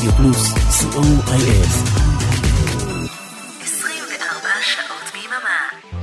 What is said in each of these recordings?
רדיו פלוס, co.il. 24 שעות ביממה.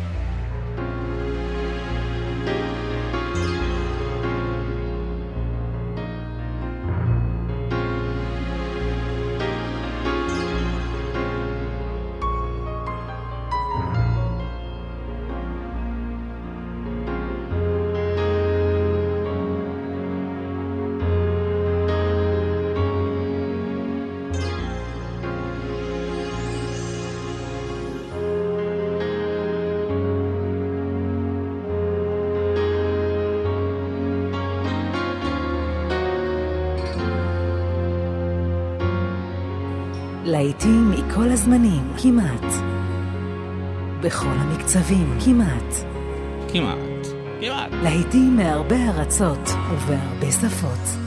להיטים מכל הזמנים, כמעט. בכל המקצבים, כמעט. להיטים מהרבה ארצות ובהרבה שפות.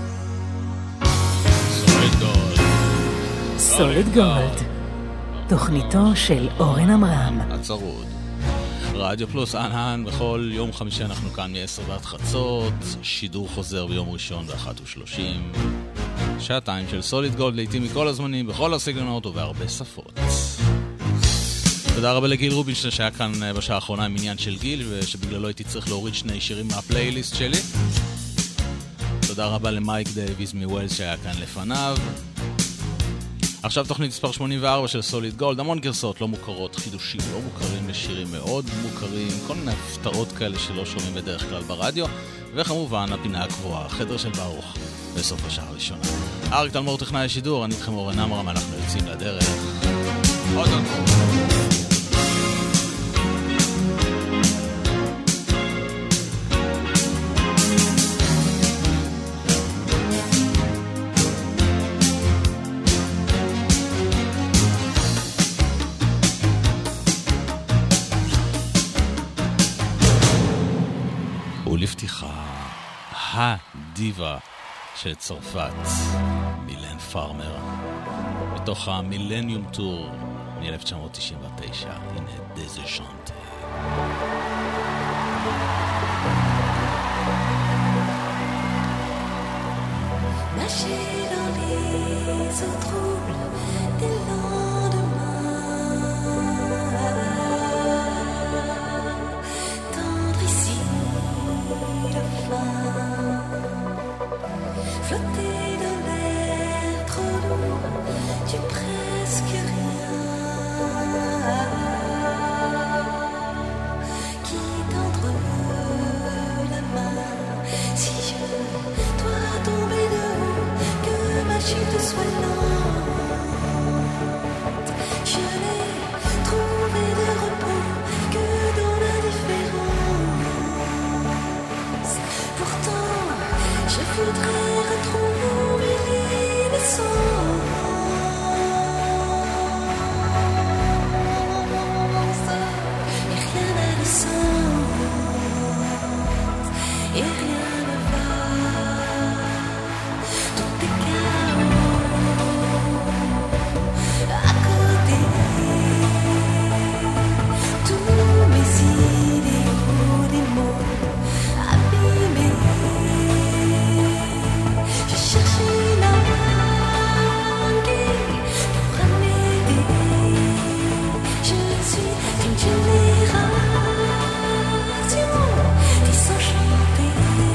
סוליד גולד. תוכניתו של אורן אמרם. הצרוד. רדיו פלוס אנהן, בכל יום חמישי אנחנו כאן מ-10 ועד חצות, שידור חוזר ביום ראשון ב-1:30. שעתיים של סוליד גולד, לעתים מכל הזמנים, בכל הסגנונות ובהרבה שפות. תודה רבה לגיל רובינשטיין שהיה כאן בשעה האחרונה עם עניין של גיל, ושבגללו הייתי צריך להוריד 2 שירים מהפלייליסט שלי. תודה רבה למייק דייביס מווילס שהיה כאן לפניו. עכשיו תוכנית מספר 84 של סוליד גולד, המון גרסאות לא מוכרות, חידושים לא מוכרים לשירים מאוד מוכרים, כל מיני הפתעות כאלה שלא שומעים בדרך כלל ברדיו, וכמובן הפינה הקבועה, החדר של ברוך, בסוף השעה הראשונה. אריק תלמור טכנאי השידור, אני איתכם אורן אמרם, אנחנו יוצאים לדרך. עוד ולפתיחה, הדיבה של צרפת, מילן פארמר, מתוך המילניום טור מ-1999, הנה דזה ז'אנטה. Nager dans les eaux troubles des lendemains, tendre ici la fin, flotter dans l'air trop lourd du presque rien, qui tendre la main si je dois tomber de haut, que ma chute soit lente. Je n'ai trouvé de repos que dans l'indifférence. Pourtant, je voudrais retrouver l'innocence. Et rien n'a de sens, et rien ne va. Tout est chaos à côté. Tous mes idéaux, des mots abîmés. Je cherche une langue pour m'aider. Je suis une génération désenchantée.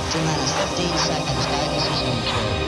T-minus 15 seconds. Guidance is control.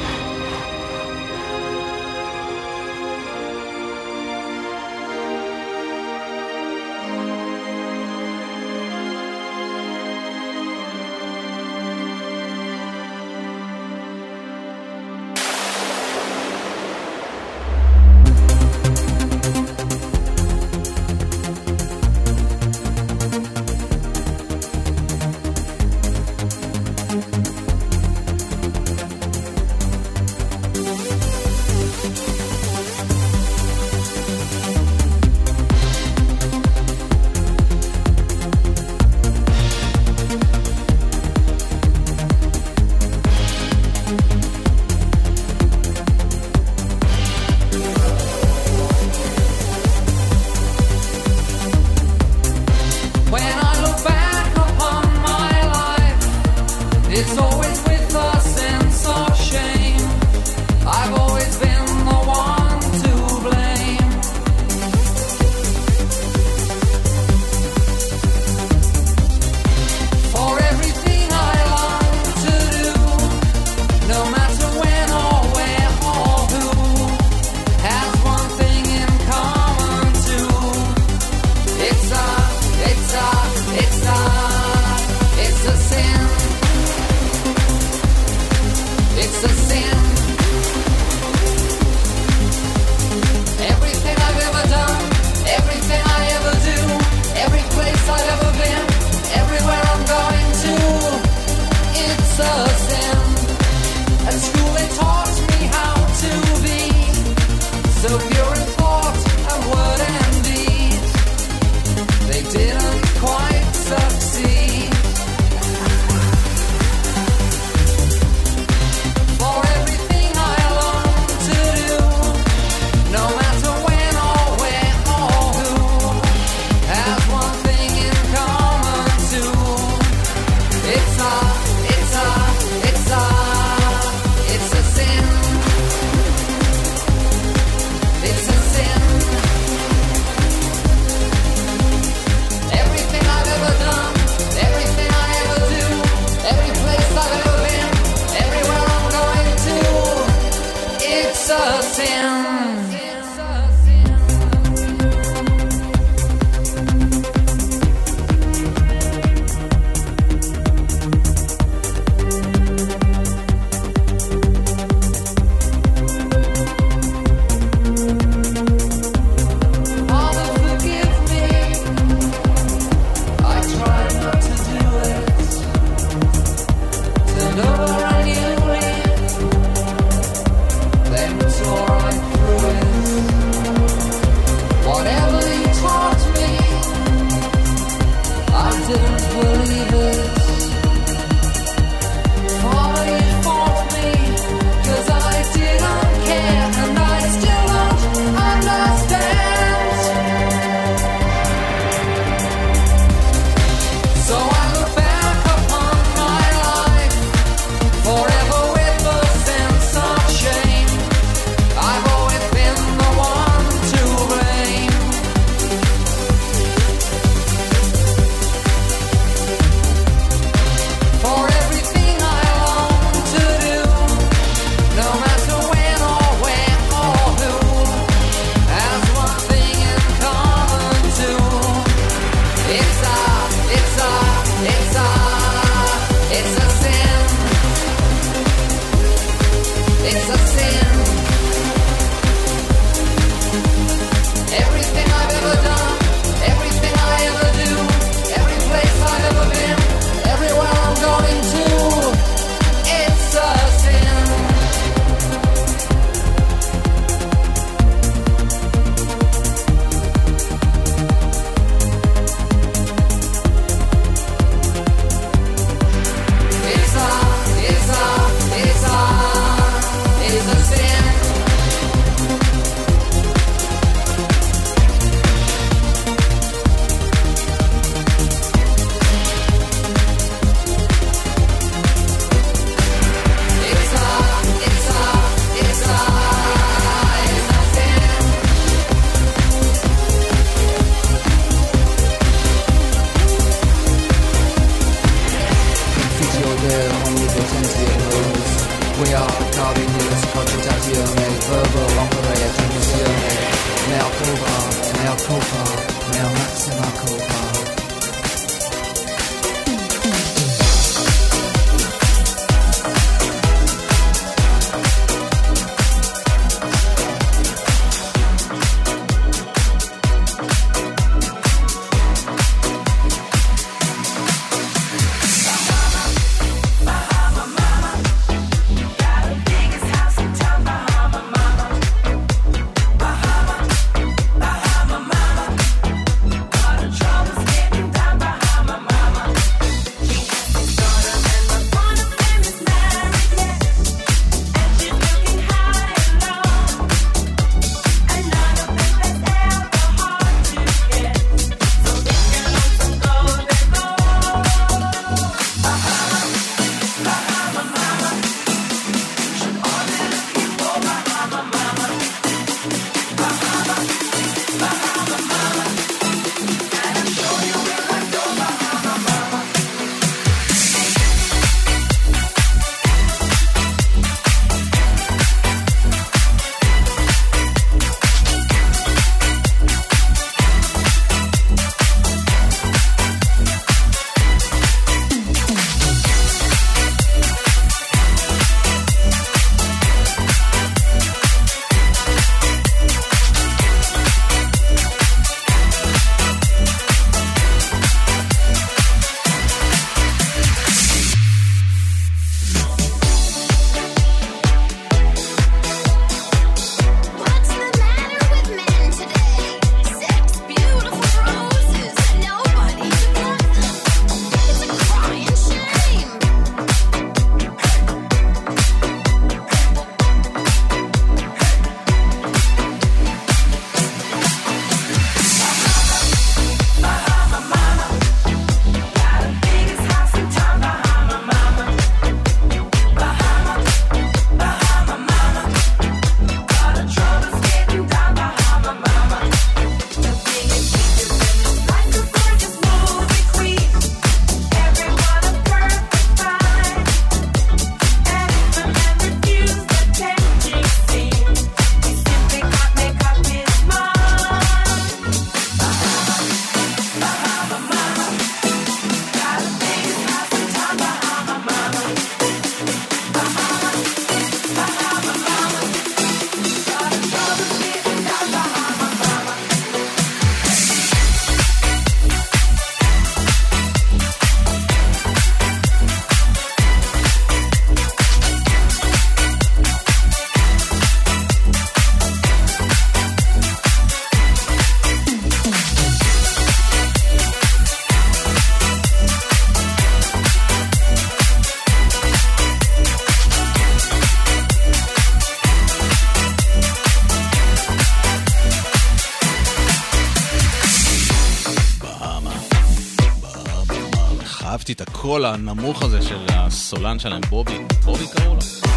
אהבתי את הקול הנמוך הזה של הסולן שלהם, בובי קראו לו.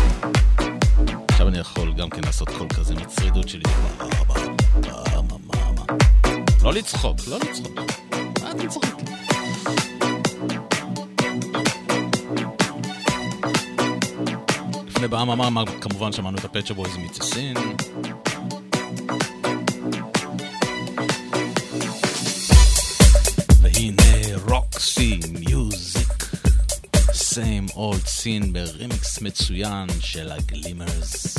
עכשיו אני יכול גם כן לעשות קול כזה מצרידות שלי. לא לצחוק. מה אתם צוחקים? לפני באמה כמובן שמענו את הפצ'ה בויז מיצסין. והנה רוקסי מיוזיק, same old scene ברימיקס מצוין של הגלימרס.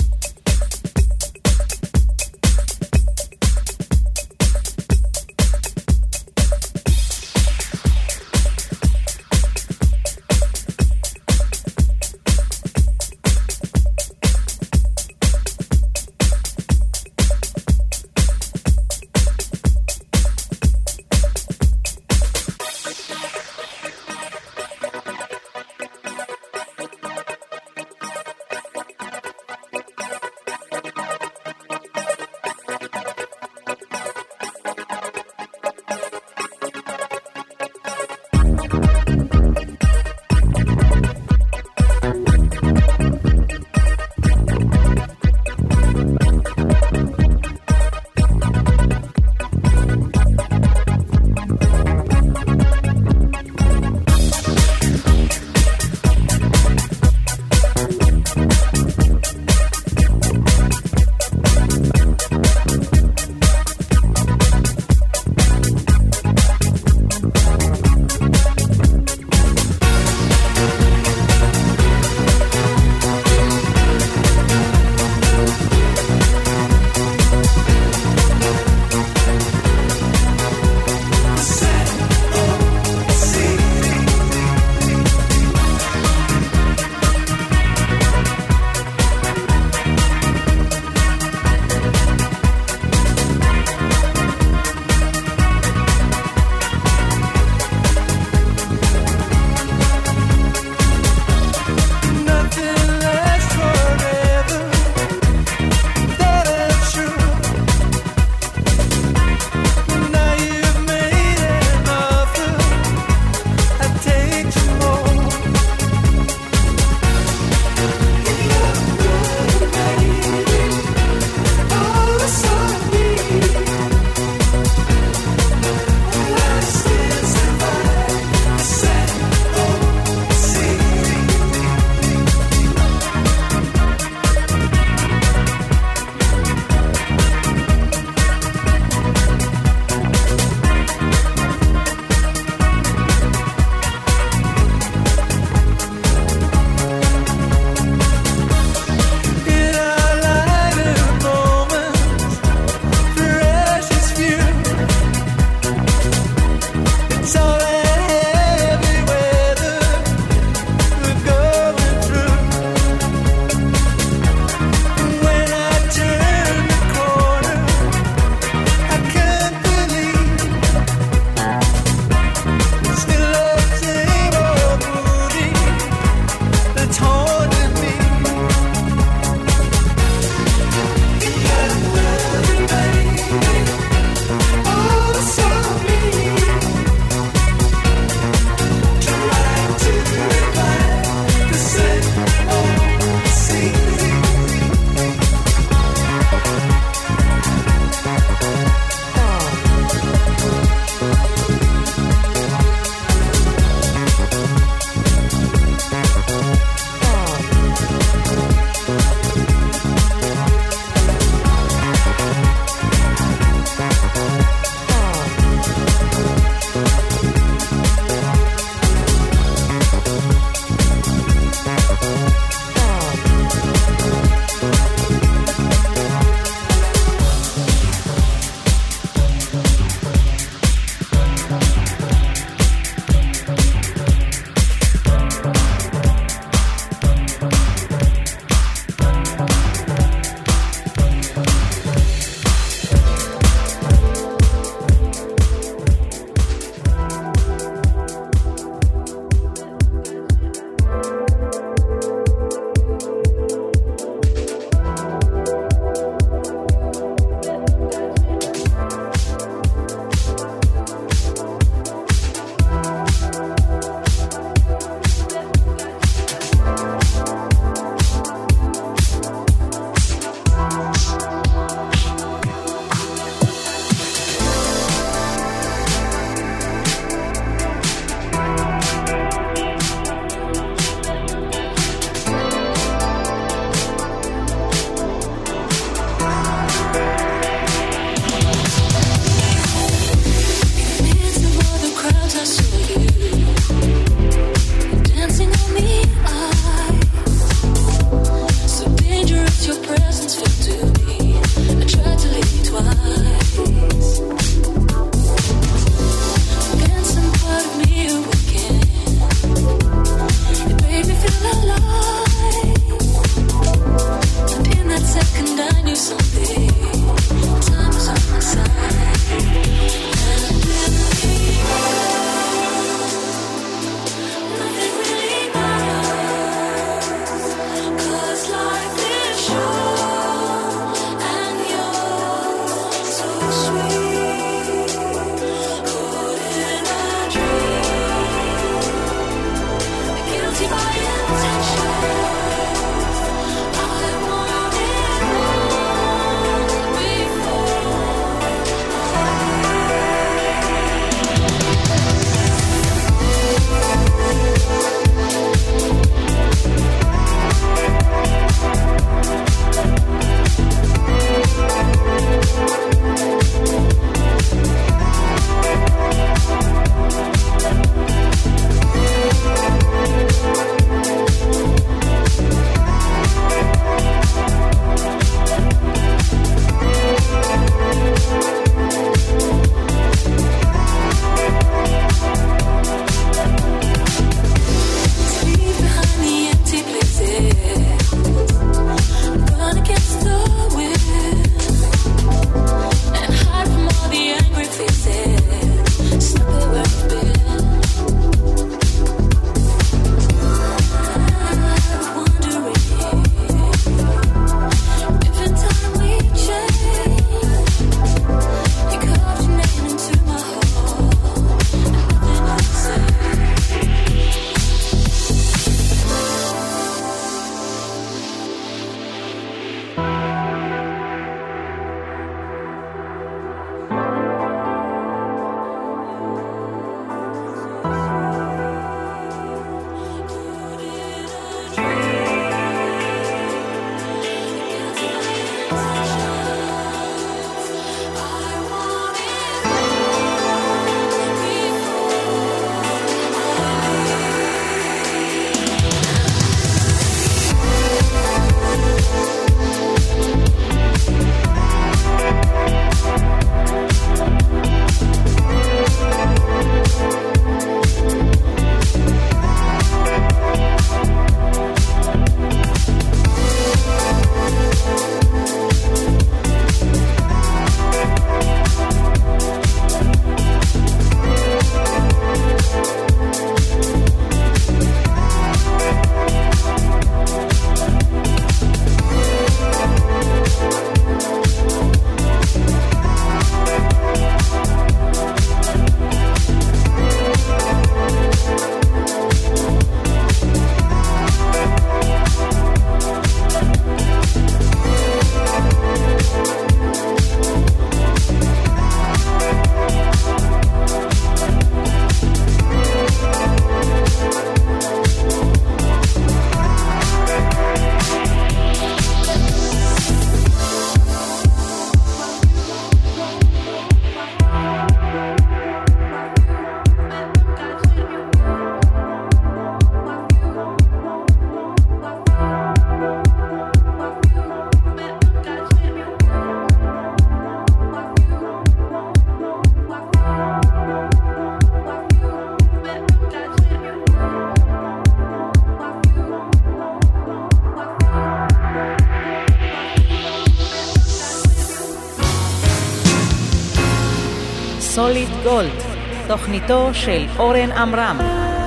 סוליד גולד, תוכניתו של אורן עמרם.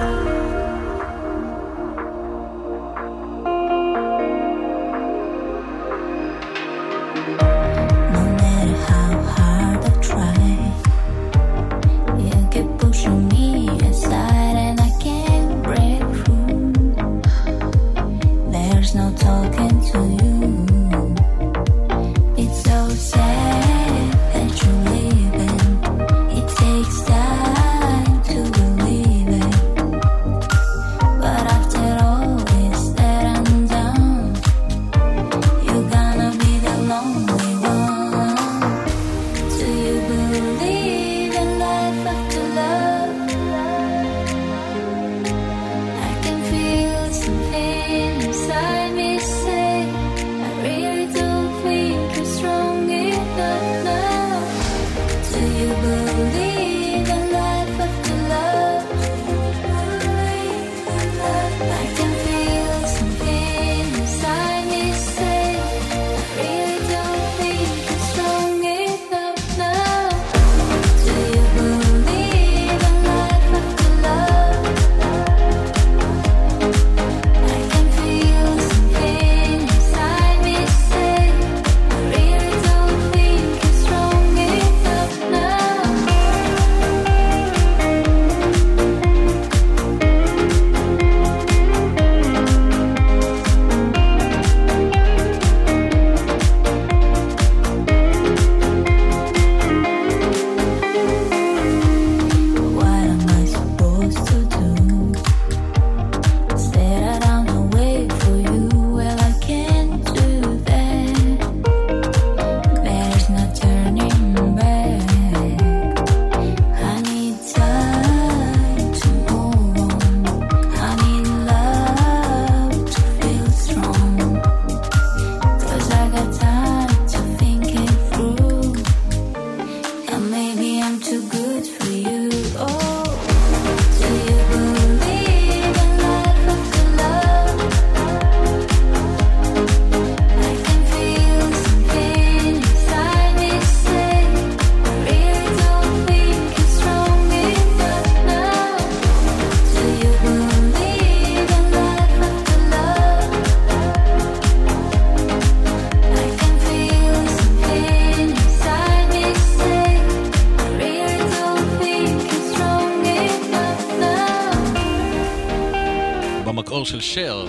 של שר,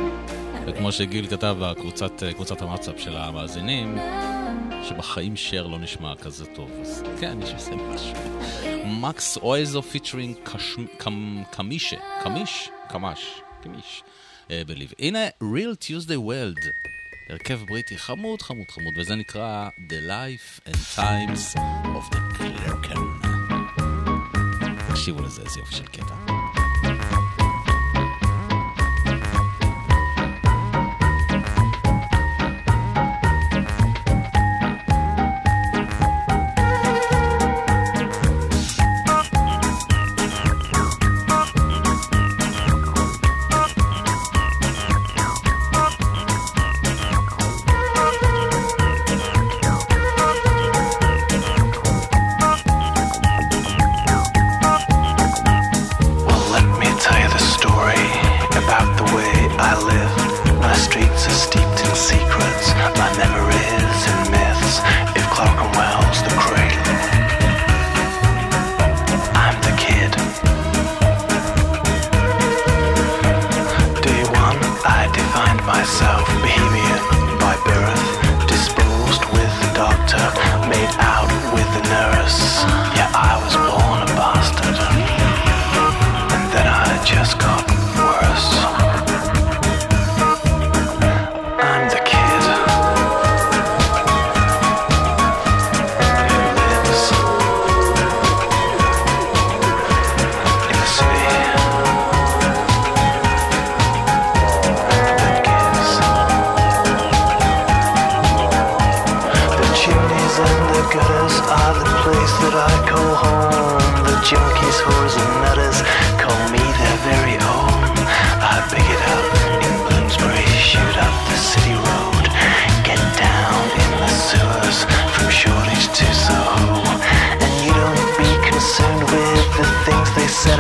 וכמו שגיל כתב בקבוצת הוואטסאפ של המאזינים, שבחיים שר לא נשמע כזה טוב. אז כן, יש עושה משהו. מקס אויזו פיצ'רינג קמיש בליב. הנה Real Tuesday World, הרכב בריטי חמוד, וזה נקרא The Life and Times of the Clerken. תקשיבו לזה, איזה יופי של קטע. junkies, whores and nutters call me their very own. I pick it up in Bloomsbury, shoot up the city road, get down in the sewers from Shoreditch to Soho, and you don't beat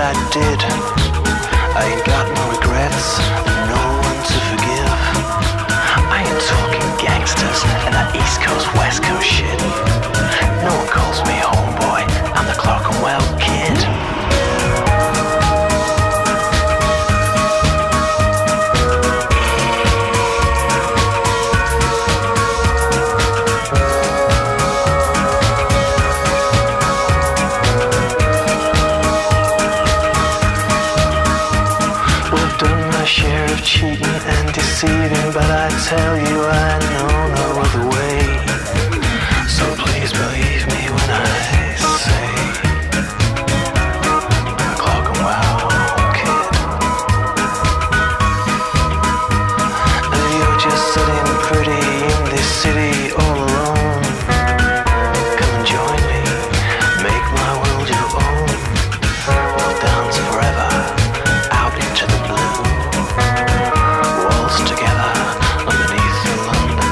I did. I ain't got no regrets, no one to forgive. I ain't talking gangsters and that East Coast, West Coast shit. No one calls me homeboy, I'm the Clerkenwell Kid. Cheating and deceiving, but I tell you I know no other way. So please believe me when I say I'm a Clerkenwell Kid. You're just sitting pretty in this city all alone. Come and join me, make my world your own. We'll dance forever out into the blue. Together underneath the London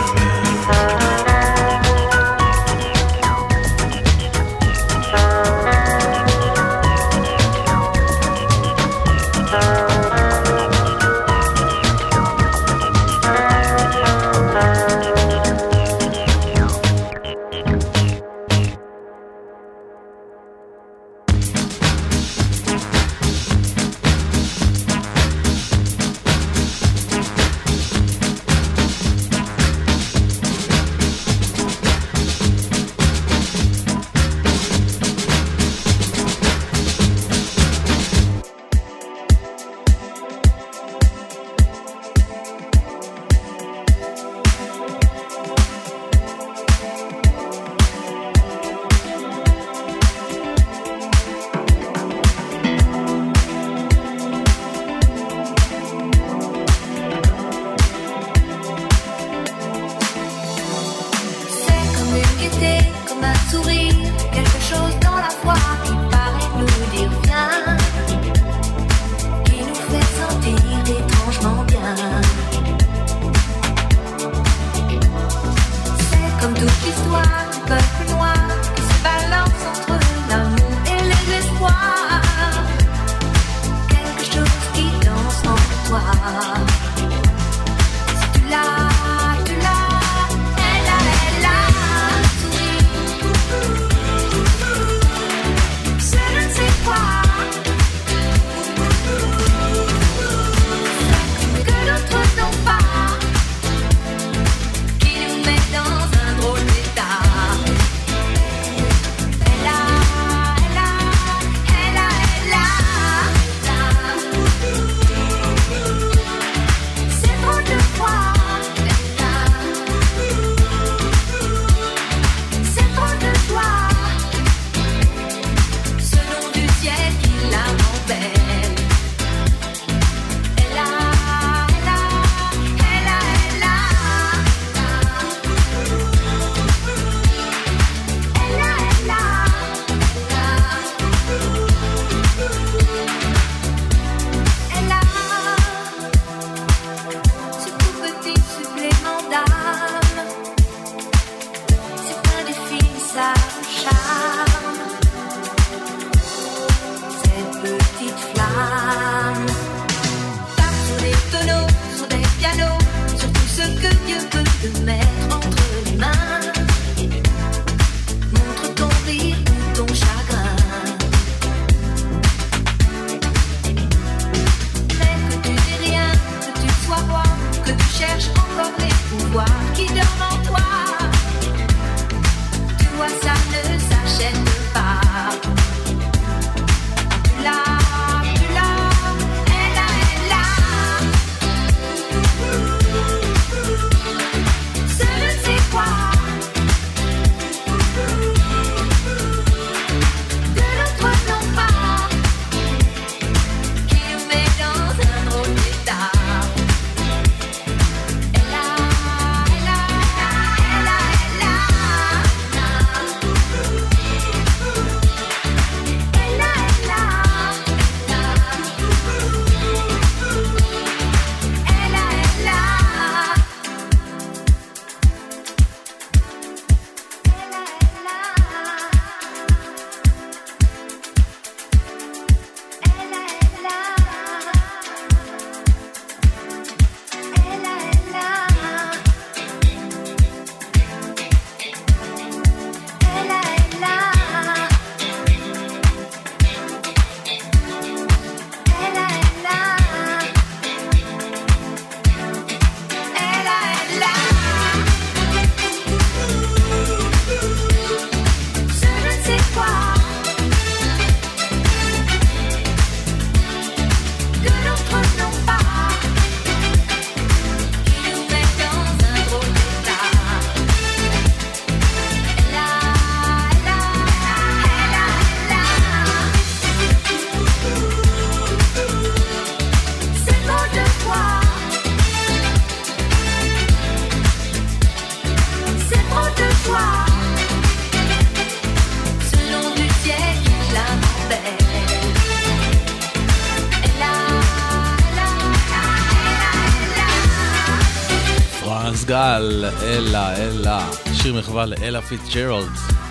אז גל, אלה, שיר מחווה לאלה פיטג'רלד.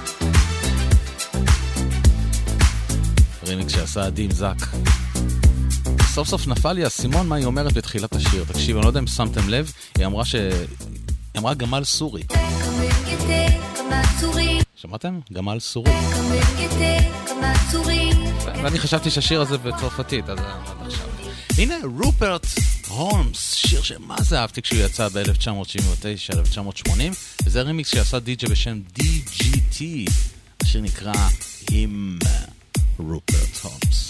רימיקס שעשה דים זק. סוף סוף נפל לי הסימון מה היא אומרת בתחילת השיר. תקשיב, אני לא יודע אם שמתם לב, היא אמרה גמל סורי. שמעתם? גמל סורי. ואני חשבתי שהשיר הזה בצרפתית, אז עד עכשיו. הנה רופרט הולמס, שיר שמה זה אהבתי כשהוא יצא ב-1979-1980, וזה רימיקס שעשה די-ג'י בשם DGT. השיר נקרא Him, רופרט הולמס.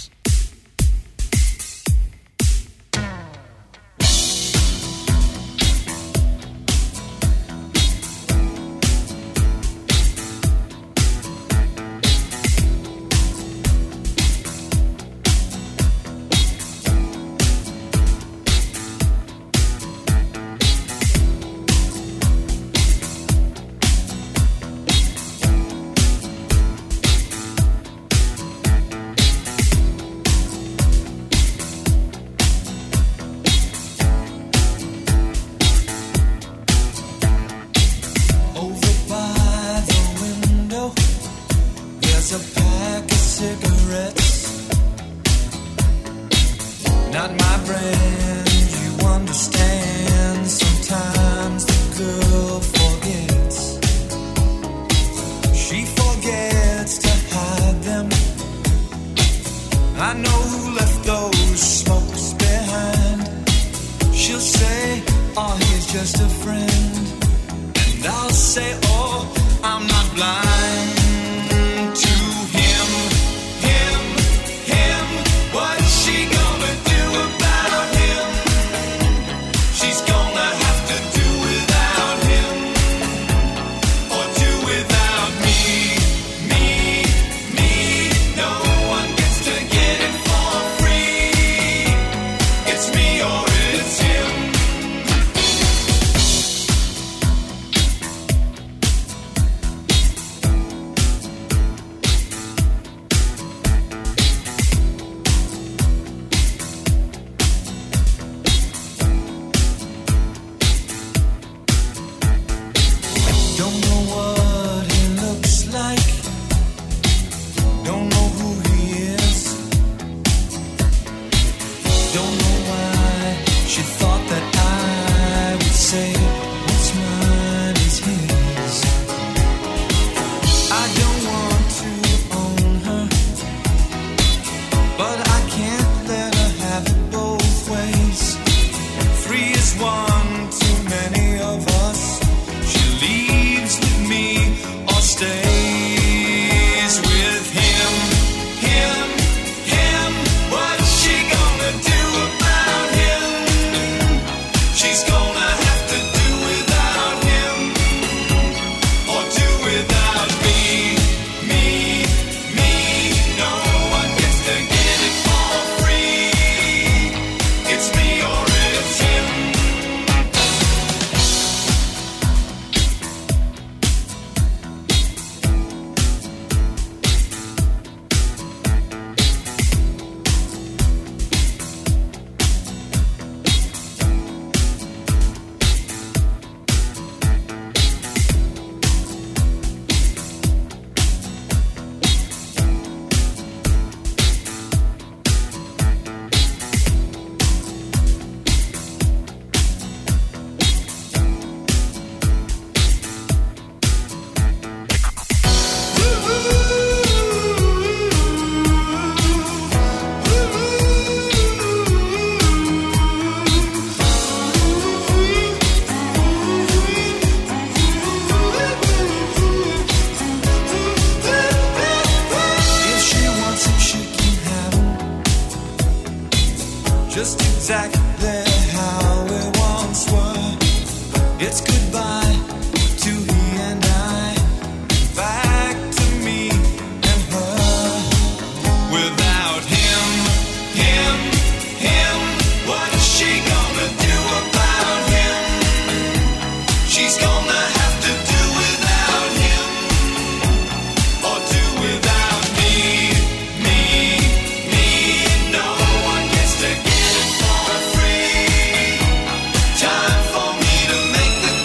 Time for me to make the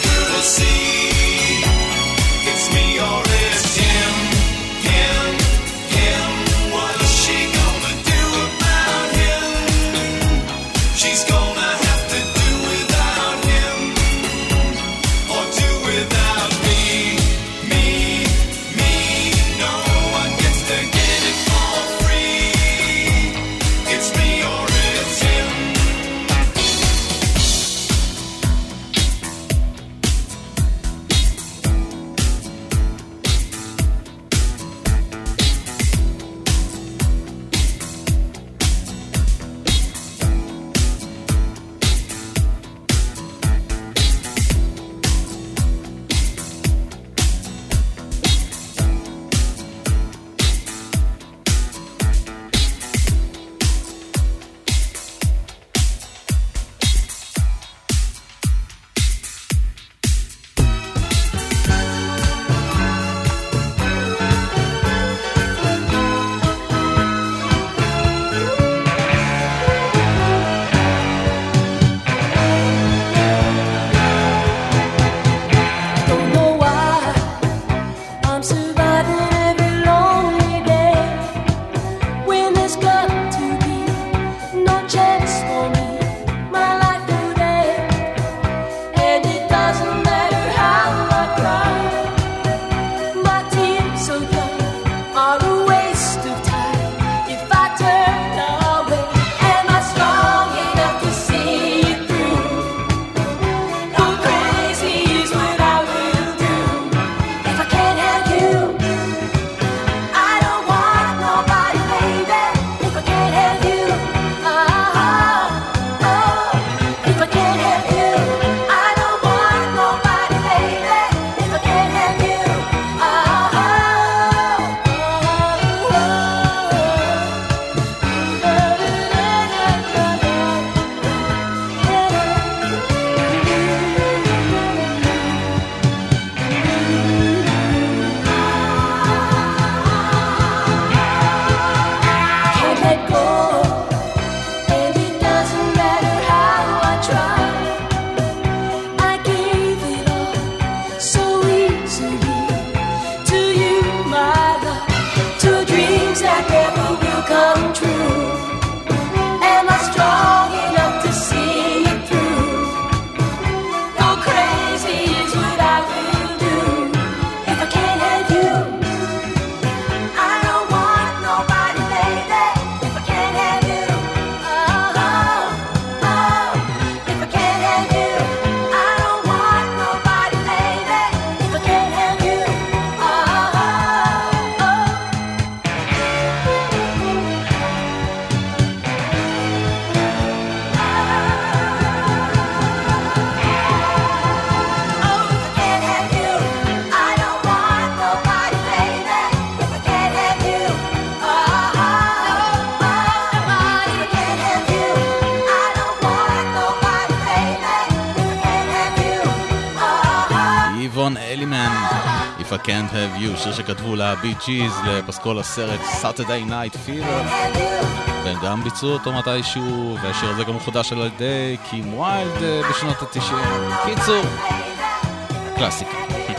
Don Elliman, If I Can't Have You, שיר שכתבו לה-Bee Gees לפסקול הסרט Saturday Night Fever, והם גם ביצעו אותו מתישהו, והשיר הזה גם מחודש על ידי קים ויילד בשנות ה-90. קיצור, קלאסיקה.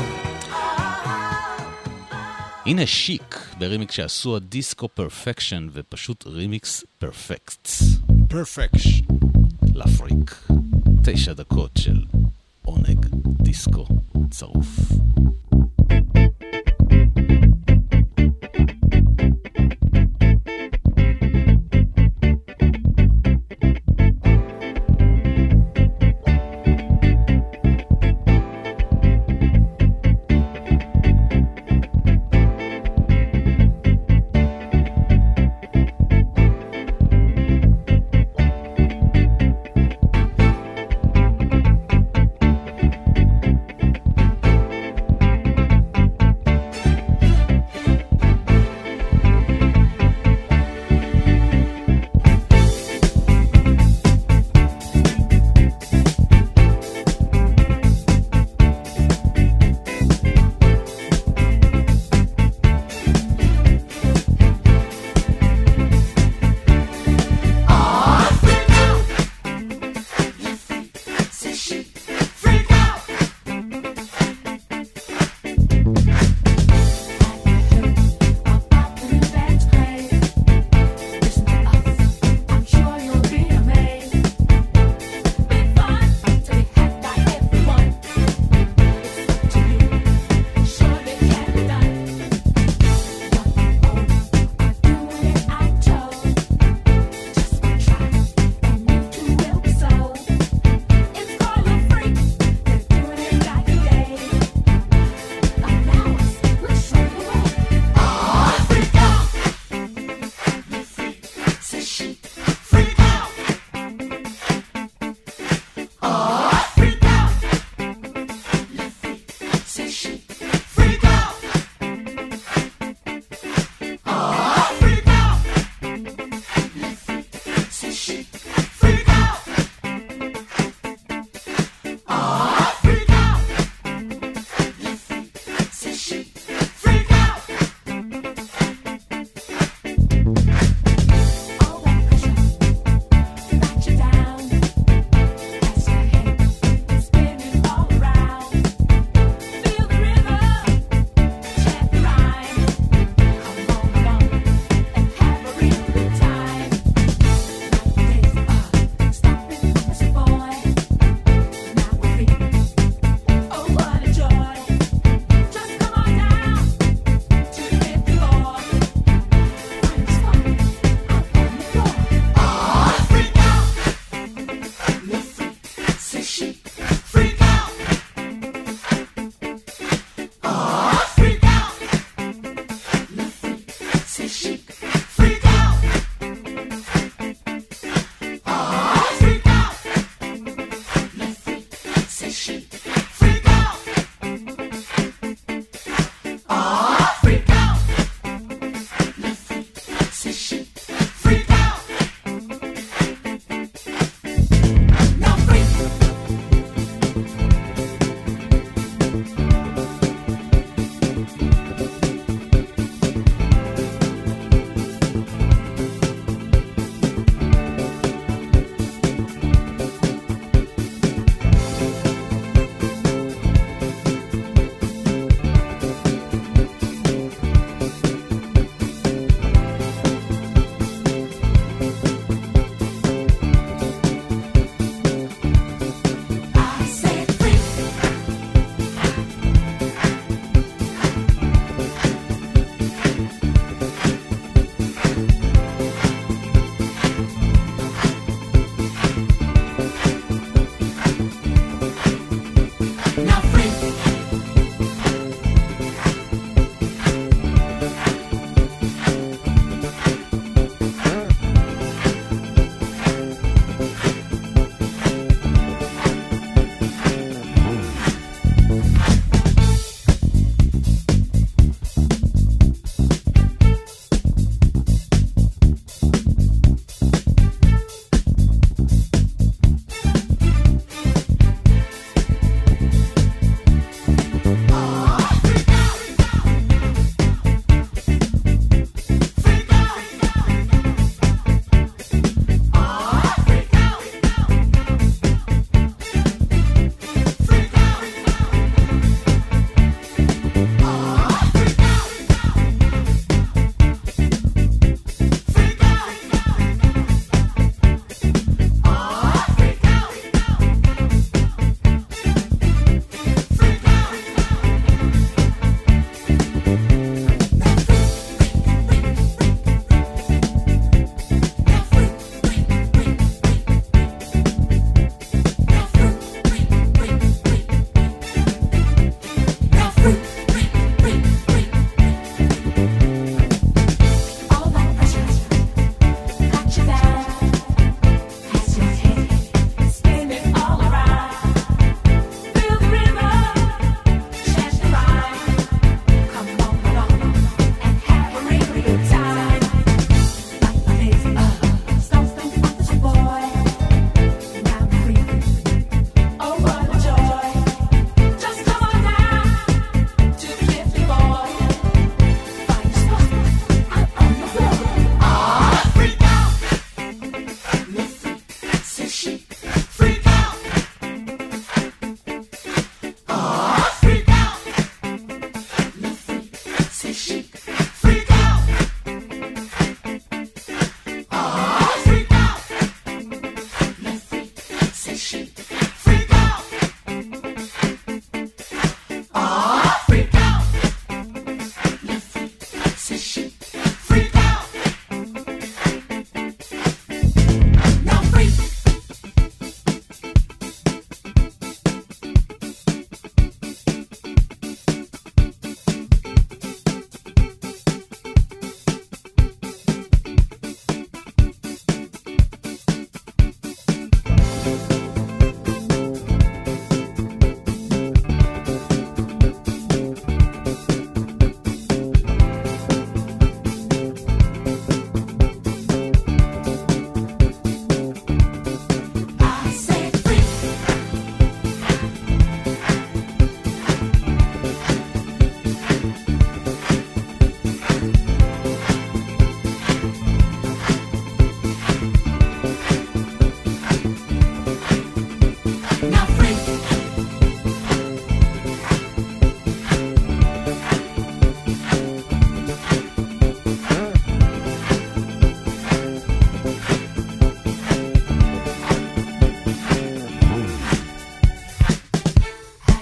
הנה שיק ברימיקס שעשו הדיסקו פרפקשן, ופשוט רימיקס פרפקט. פרפקש לפריק. 9 דקות של עונג דיסקו צרוף.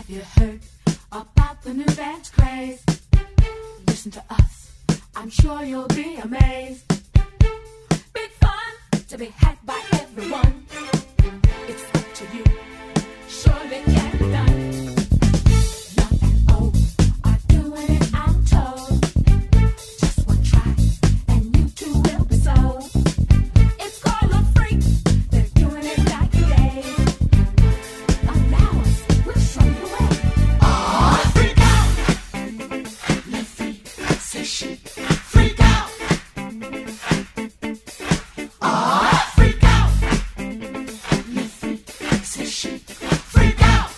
you heard about the new dance craze? Listen to us, I'm sure you'll be amazed. Big fun to be had by everyone. It's up to you, surely can be done. Young and old are doing it, I'm told. Just one try, and you too will be sold. It's called a freak, they're doing it like a day. Allow us, we'll show you the way. Freak out! Le freak, c'est chic. Freak out! Freak out! Le freak, c'est chic. Freak out!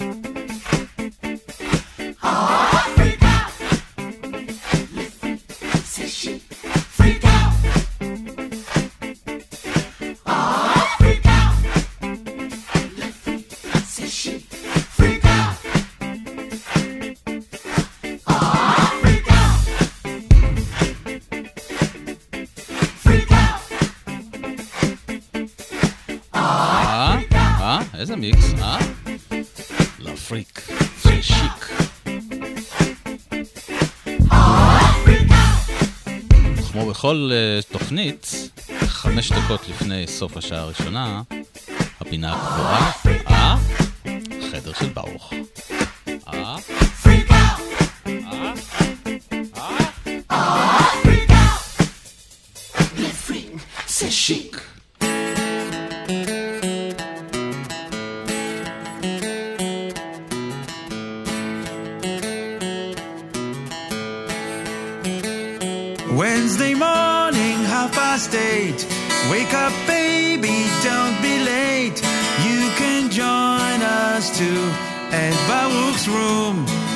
Freak out! Le freak, c'est chic. Freak out! Freak out! Le freak, c'est chic. Freak out! Freak out! Freak out! איזה מיקס, לפריק, זה שיק. כמו בכל תוכנית, 5 דקות לפני סוף השעה הראשונה, הפינה הקבועה, חדר של ברוך. Freak out! Freak out! Le freak, c'est chic. Wednesday morning, 8:30. Wake up, baby, don't be late. You can join us too at Baruch's room.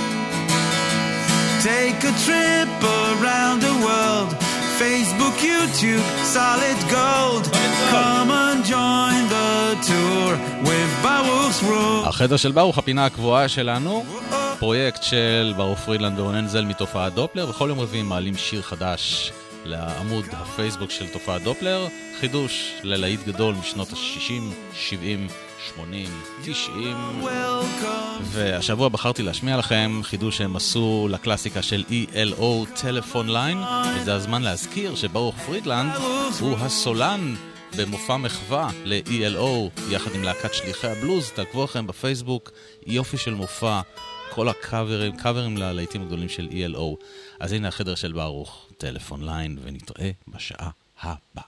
Take a trip around the world. Facebook, YouTube, solid gold. Come and join the tour with Baruch's room. החדר של ברוך, הפינה הקבועה שלנו, פרויקט של ברוך פרידלנד ורונן זל מתופעת דופלר. בכל יום רביעי מעלים שיר חדש לעמוד הפייסבוק של תופעת דופלר, חידוש ללהיט גדול משנות ה-60, 70, 80, 90. והשבוע בחרתי להשמיע לכם חידוש שהם עשו לקלאסיקה של ELO טלפון ליין, וזה הזמן להזכיר שברוך פרידלנד הוא הסולן במופע מחווה ל-ELO יחד עם להקת שליחי הבלוז. תעקבו לכם בפייסבוק, יופי של מופע, כל הקאברים ללהיטים הגדולים של ELO. אז הנה החדר של ברוך, טלפון ליין, ונתראה בשעה הבאה.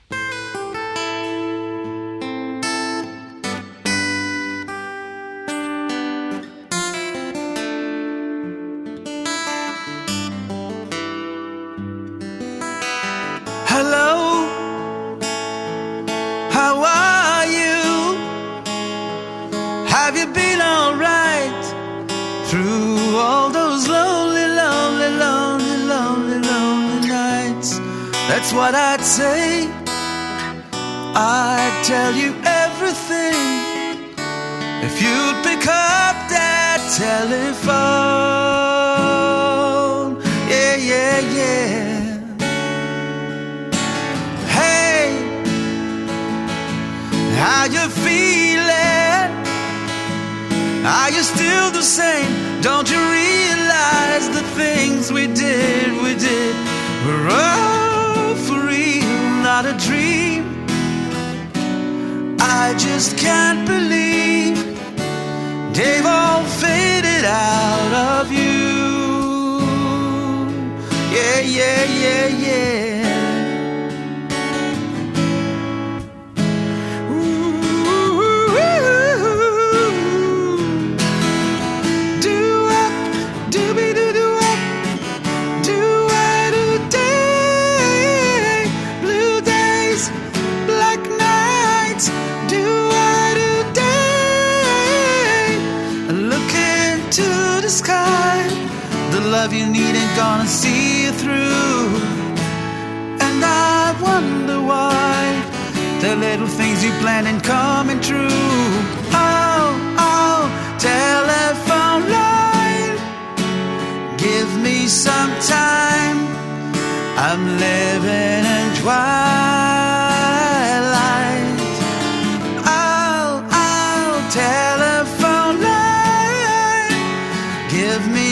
Hello, how are you? Have you been all right through all those lonely, lonely, lonely, lonely, lonely nights? That's what I'd say. I'd tell you everything if you'd pick up that telephone. Yeah, yeah, yeah. How you feeling? Are you still the same? Don't you realize the things we did were all for real, not a dream? I just can't believe they've all faded out of you. Yeah, yeah, yeah, yeah. Love you need ain't gonna see you through. And I wonder why the little things you plan ain't coming true. Oh, oh, telephone line, give me some time. I'm living in twilight. Oh, oh, telephone line,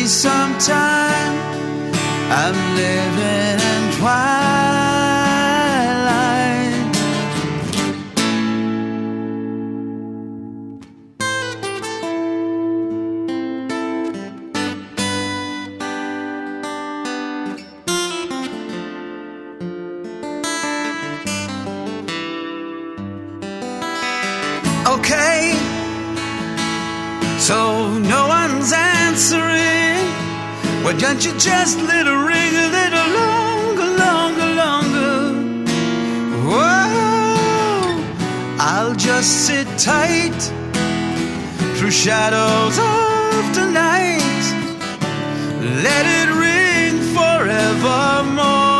some time. I'm living in twilight. Okay, so no one's answering. Why don't you just let it ring a little longer, longer, longer? Whoa, I'll just sit tight through shadows of the night. Let it ring forevermore.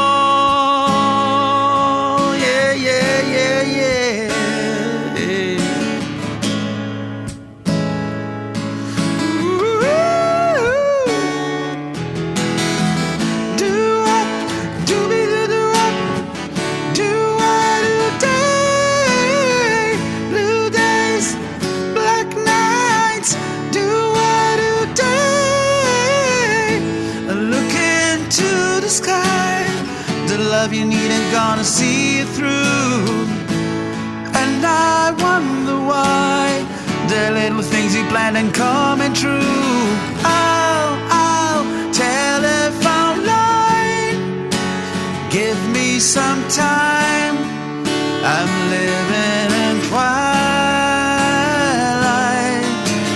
Yeah, yeah, yeah, yeah. Love you need ain't gonna see you through. And I wonder why the little things you planned ain't coming true. I'll telephone line. Give me some time. I'm living in twilight.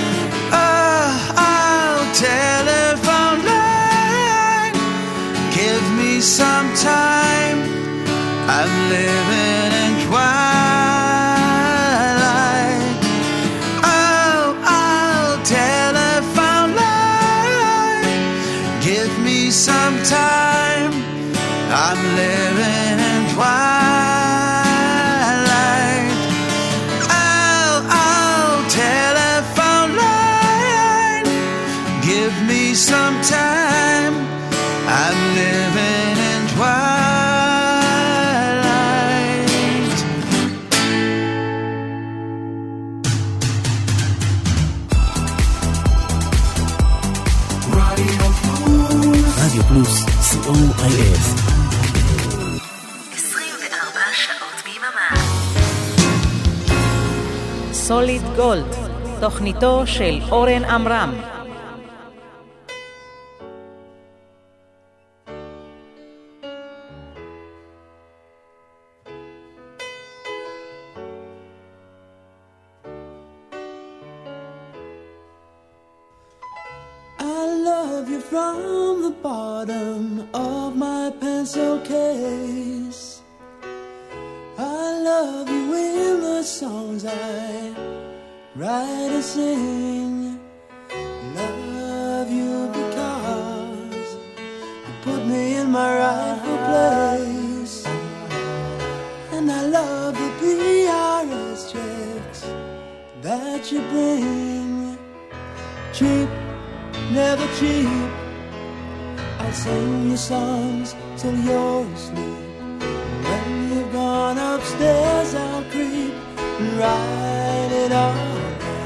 I'll telephone line. Give me some time. I'm living in twilight. I'll telephone line. Give me some time. I'm living in twilight. I'll telephone line. Give me some time. I'm living in twilight. רדיו פלוס, COIF. 24 שעות ביממה. סוליד גולד, תוכניתו של אורן עמרם. From the bottom of my pencil case, I love you in the songs I write and sing. Love you because you put me in my rightful place. And I love the PRS checks that you bring. Cheap, never cheap. I'll sing your songs till you're asleep. When you've gone upstairs, I'll creep and write it all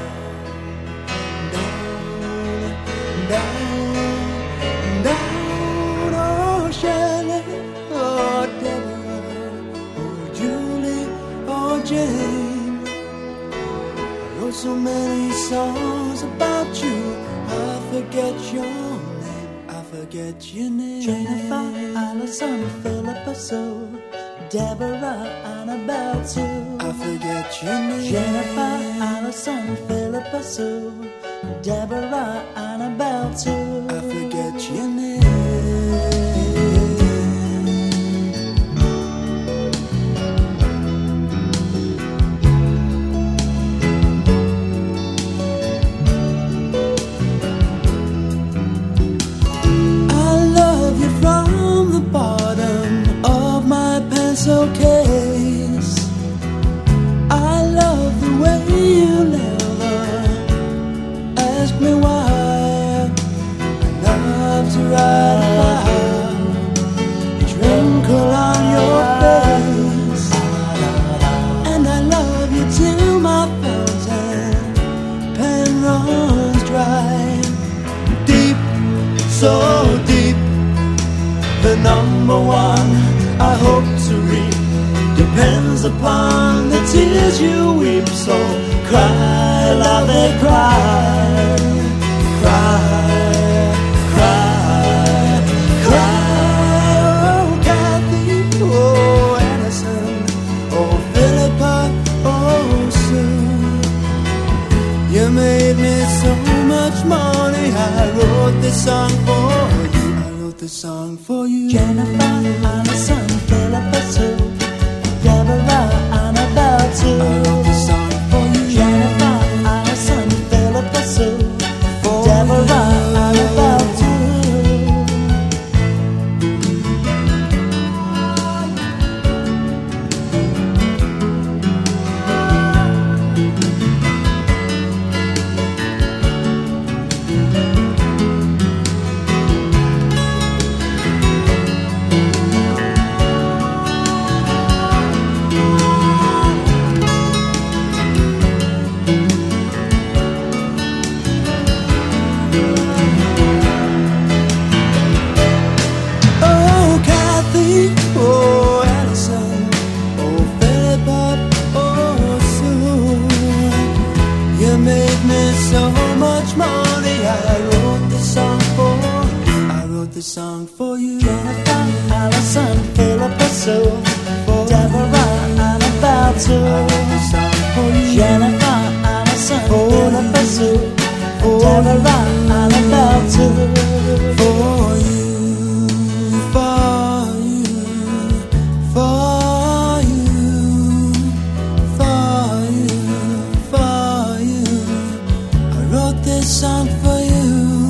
down, down, down. Oh, Shelley, oh, Deborah, oh, Julie, oh, Jane. I wrote so many songs about you, I forget your forget your name. Jennifer, Allison, Philippa Sue, Deborah, Annabelle Sue. I forget your name. Jennifer, Allison, Philippa Sue, Deborah, Annabelle Sue. I forget your name. Case. I love the way you never ask me why. I love to ride about each wrinkle on your face, and I love you till my fountain pen runs dry. Deep so deep. The number one I hope to reap depends upon the tears you weep. So cry, love it, cry, cry, cry, cry. Oh, Kathy, oh, Anderson, oh, Philippa, oh, Sue. You made me so much money. I wrote this song for you. I wrote this song for you. Jennifer, Allison, Philippa, Sue, Deborah, Annabelle, too. I wrote this song for you. Jennifer, Allison, Philippa, Sue, Deborah, Annabelle, too. Song for you. Jennifer, Allison, Philippa, Sue, Deborah, Annabelle, too. Song for you. Jennifer, Allison, Philippa, Sue, Deborah, Annabelle, too. For you, for you, for you, for you, for you. I wrote this song for you.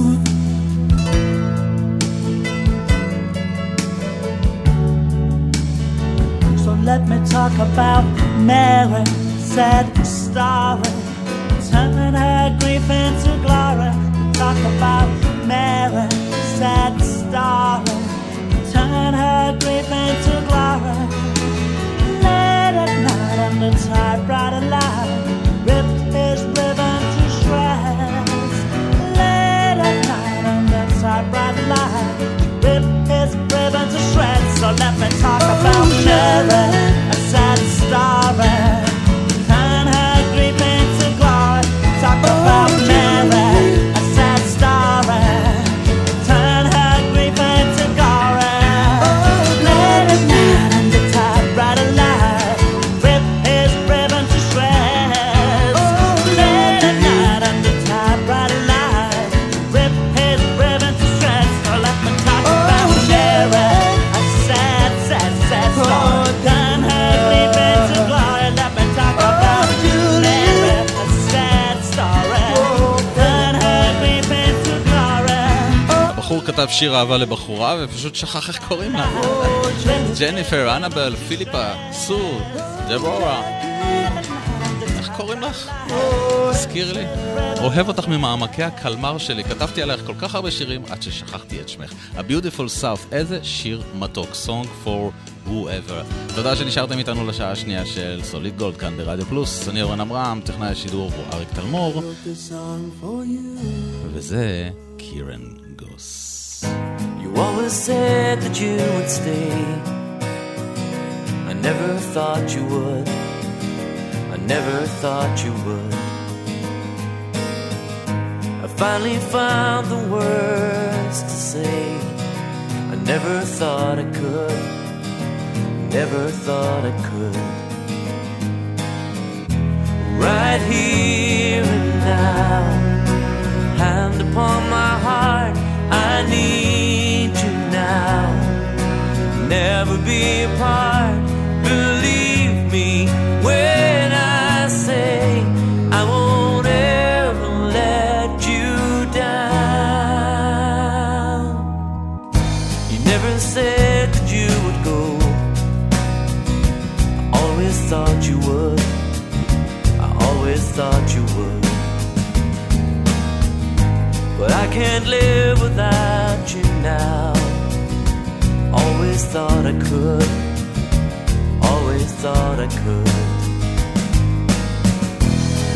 Let me talk about Mary, sad story, turning her grief into glory. Talk about Mary, sad story, turn her grief into glory. Late at night on the typewriter line, ripped his ribbon to shreds. Late at night on the typewriter line, ripped his ribbon to shreds. So let me talk about Mary, a sad story, turn her grief into glory. Talk about Mary, a sad story, turn her grief into glory. Late at night on the typewriter line, rip his ribbon to shreds. Late at night on the typewriter line, rip his ribbon to shreds. So let me talk about Mary, a sad, sad, sad story. Turn her grief into glory. Let me talk about Mary, a sad story. Turn her grief into glory. הבחור כתב שיר אהבה לבחורה ופשוט שכח איך קוראים לה. ג'ניפר, אנבל, פיליפה, סו, דבורה. איך קוראים לך? הזכיר לי. אוהב אותך ממעמקי הקלמר שלי. כתבתי עליך כל כך הרבה שירים עד ששכחתי את שמך. A Beautiful South. איזה שיר מתוק. Song for Whoever. תודה שנשארתם איתנו לשעה השנייה של סוליד גולד כאן ברדיו פלוס. אני אורן אמרם, טכנאי השידור הוא אריק תלמור. וזה קירן גוס. You always said that you would stay. I never thought you would. I never thought you would. I finally found the words to say. I never thought I could. Never thought I could. Right here and now, hand upon my heart, I need you now. Never be apart. Believe me when I say I won't ever let you down. You never said that you would go. I always thought you would. I always thought you would. But I can't live without you now. Always thought I could. Always thought I could.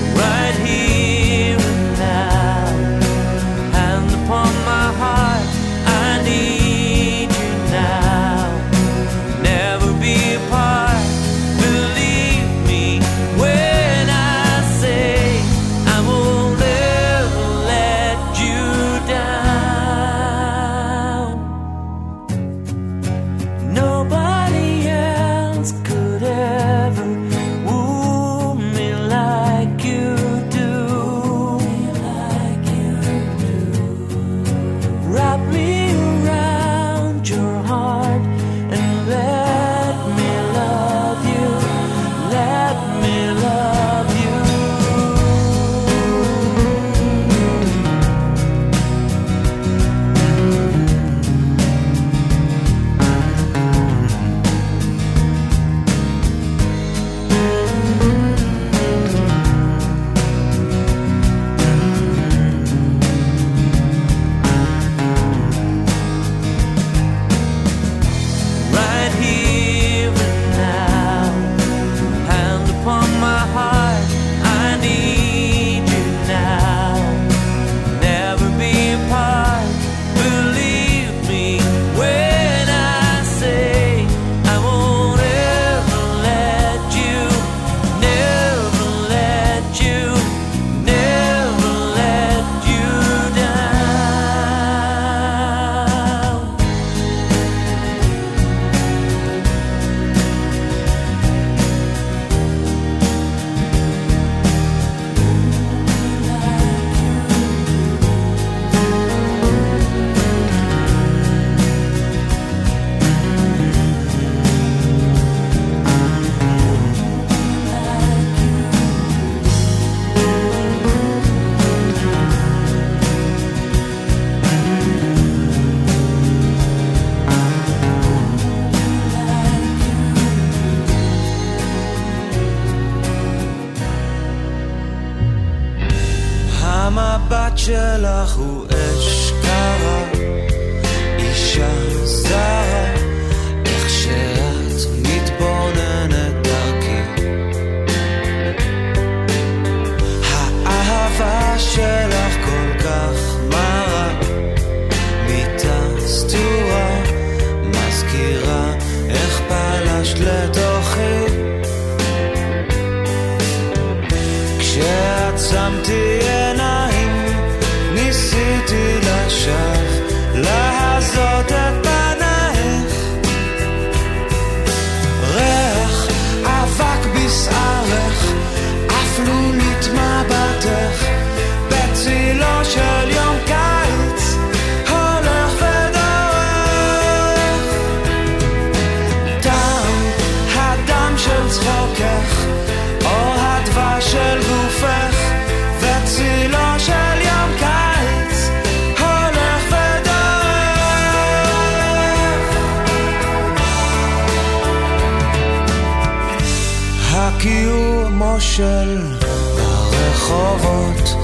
Right here and now, hand upon my heart, שלך הוא אש קרה, אישה זרה, איך שאת מתבוננת דרכי. האהבה שלך כל כך מרה, מיטה סתורה, מזכירה איך פלשת לתוכי. כשעצמתי עיניים ניסיתי לשב להזות את פנייך, ריח אבק בשערך אפלו נתמבטך, בצילו של יום קיץ הולך ודורך. טעם הדם של צחוקך או הדבש של גופך, וצילו של יום קיץ הולך ודורך. הקיומו של ברחובות,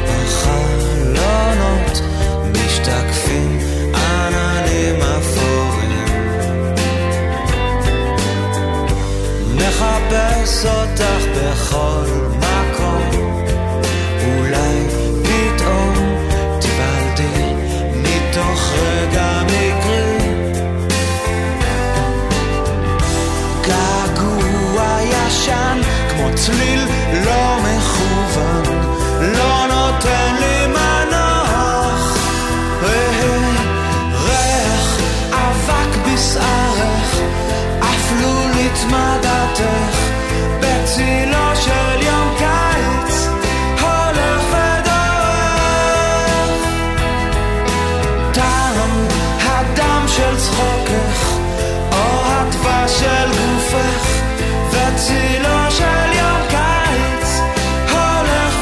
בחלונות משתקפים עננים אפורים, מחפש אותך בכל מקום, אולי פתאום תיוולדי מתוך רגע מקרי. געגוע ישן כמו צליל לא מכוון, לא נותן לי מנוח. ריח אבק בשערך אפלו נתמדתך, בצילו של יום קיץ הולך ודורך. טעם הדם של צחוקך או הדבש של גופך, וצילו של יום קיץ הולך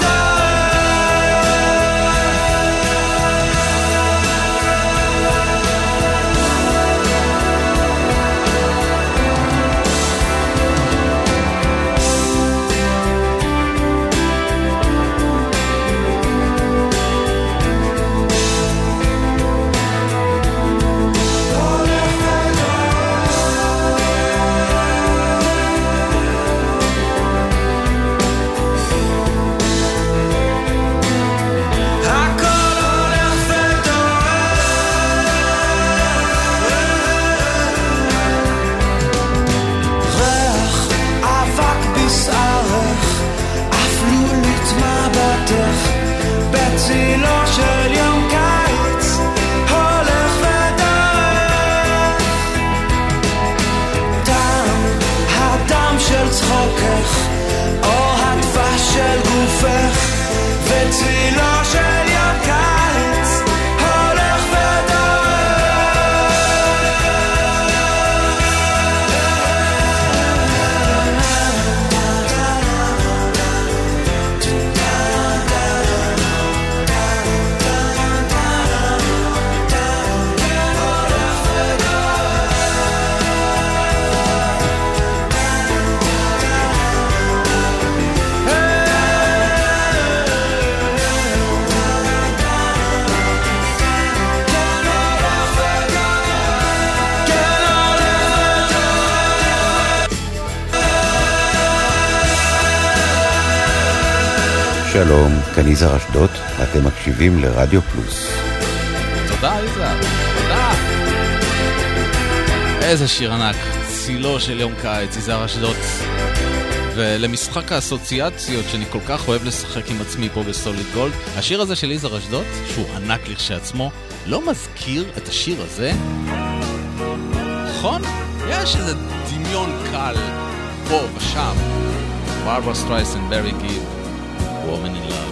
בצילו של יום קיץ הולך ודורך. טעם הדם של צחוקך או הדבש של גופך, וצילו של יום קיץ הולך שלום, כאן יזהר אשדוד, אתם מקשיבים לרדיו פלוס. תודה יזהר, תודה. איזה שיר ענק, צילו של יום קיץ, יזהר אשדוד. ולמשחק האסוציאציות שאני כל כך אוהב לשחק עם עצמי פה בסוליד גולד, השיר הזה של יזהר אשדוד, שהוא ענק לכשעצמו, לא מזכיר את השיר הזה? נכון? יש איזה דמיון קל פה ושם. ברברה סטרייסנד, ברי גיב, Woman in Love.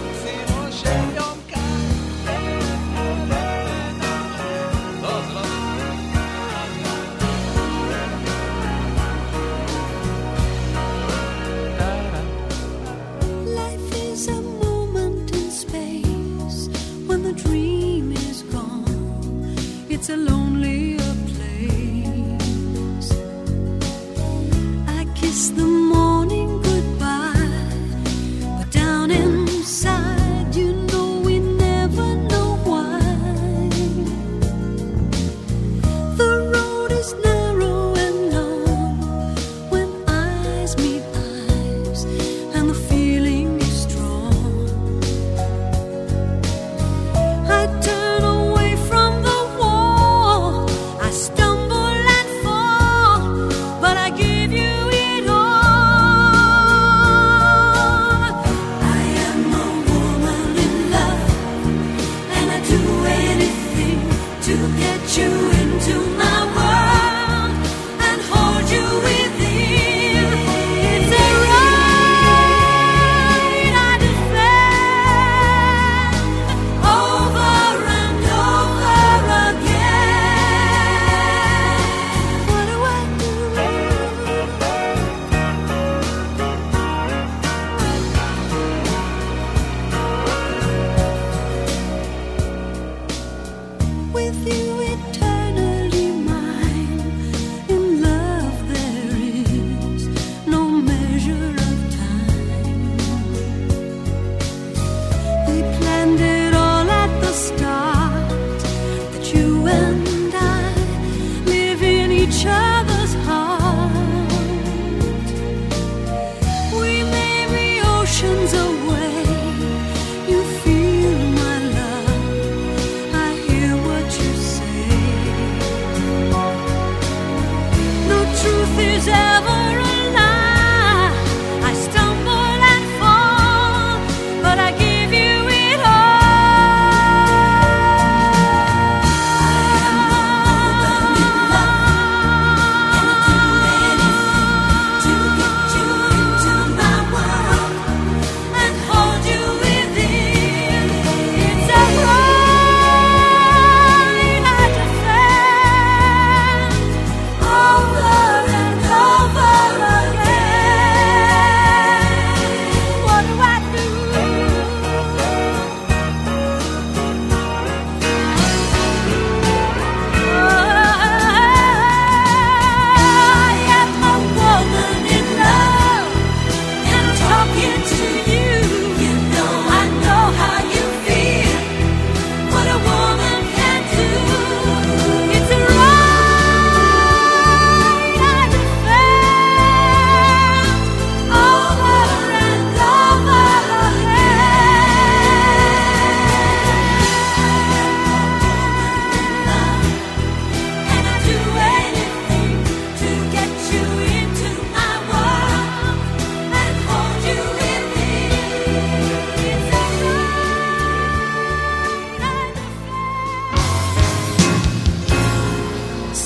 Life is a moment in space when the dream is gone. It's a lonelier place. I kiss the morning goodbye, but down inside you know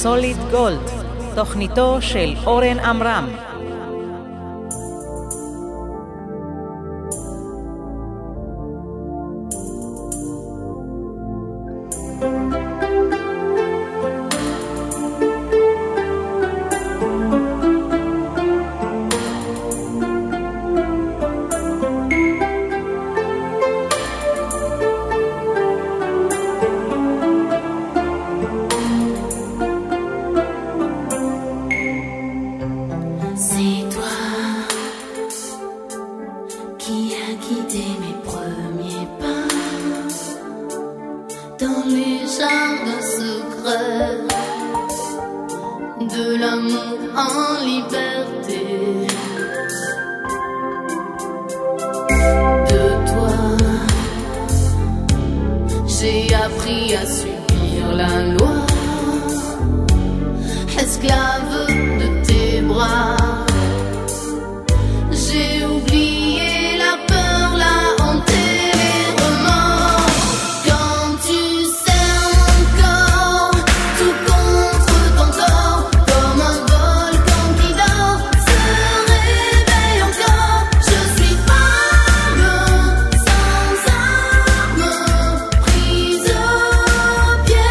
סוליד גולד, תוכניתו של אורן עמרם.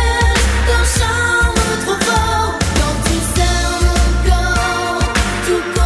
To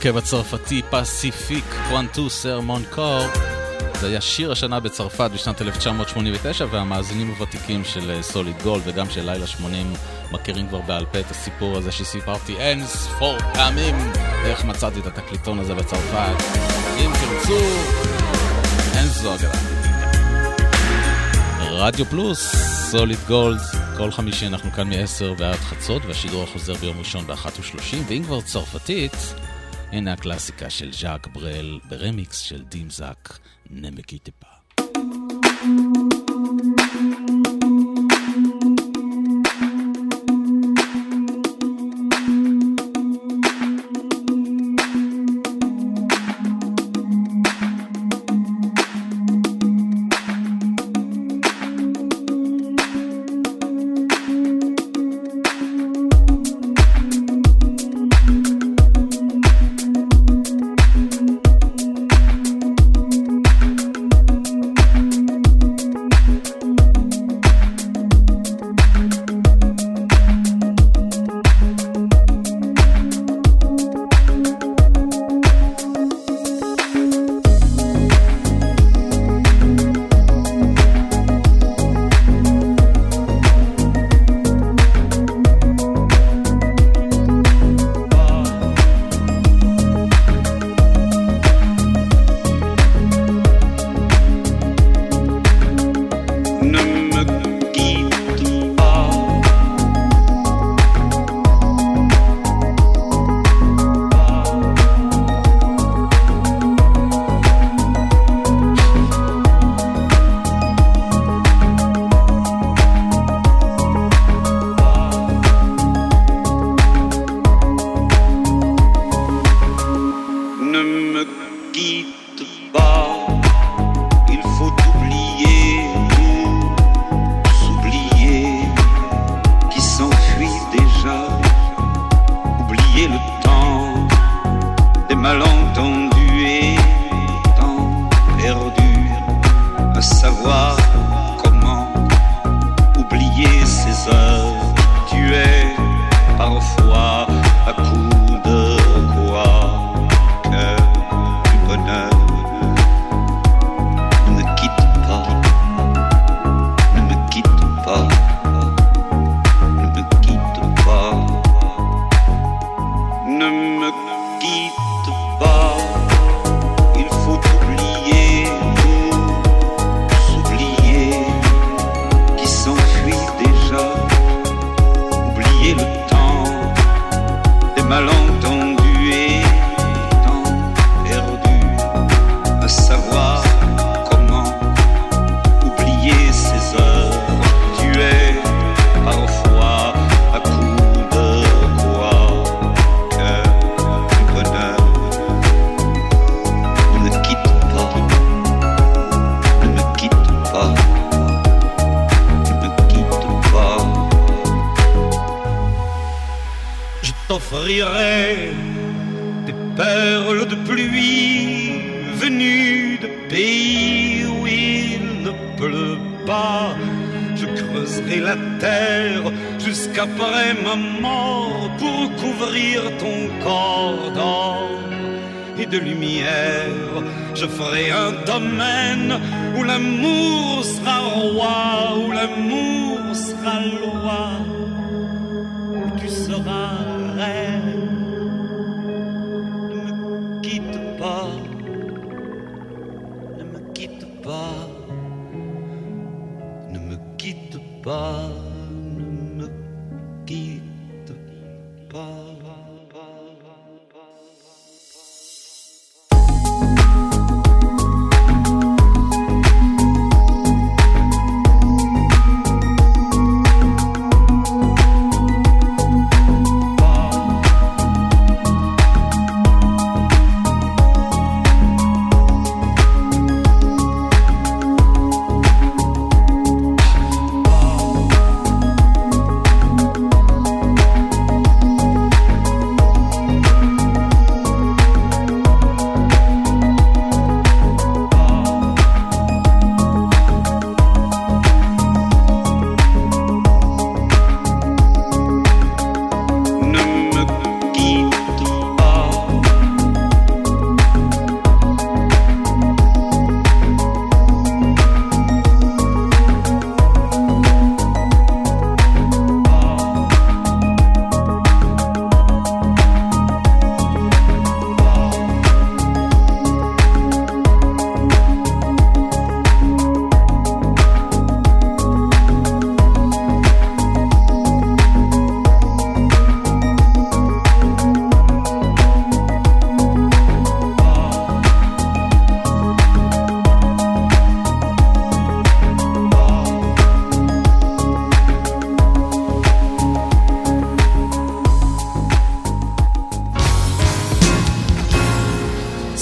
ההרכב הצרפתי פסיפיק קוונטו סרמון קור. זה היה שיר השנה בצרפת בשנת 1989, והמאזינים הוותיקים של סוליד גולד וגם של לילה 80 מכירים כבר בעל פה את הסיפור הזה שסיפרתי אין ספור פעמים איך מצאתי את התקליטון הזה בצרפת. אם תרצו, אין זו אגדה. רדיו פלוס, סוליד גולד, כל חמישי אנחנו כאן מ-10 ועד חצות, והשידור החוזר ביום ראשון ב-1:30, ואם כבר צרפתית, הנה הקלאסיקה של ז'אק ברל ברמיקס של דים זאק, נמקי טיפה. Je ferai un domaine où l'amour sera roi, où l'amour sera loi, où tu seras reine. Ne me quitte pas, ne me quitte pas, ne me quitte pas, ne me quitte pas.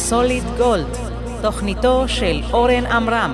סוליד גולד, תוכניתו של אורן עמרם.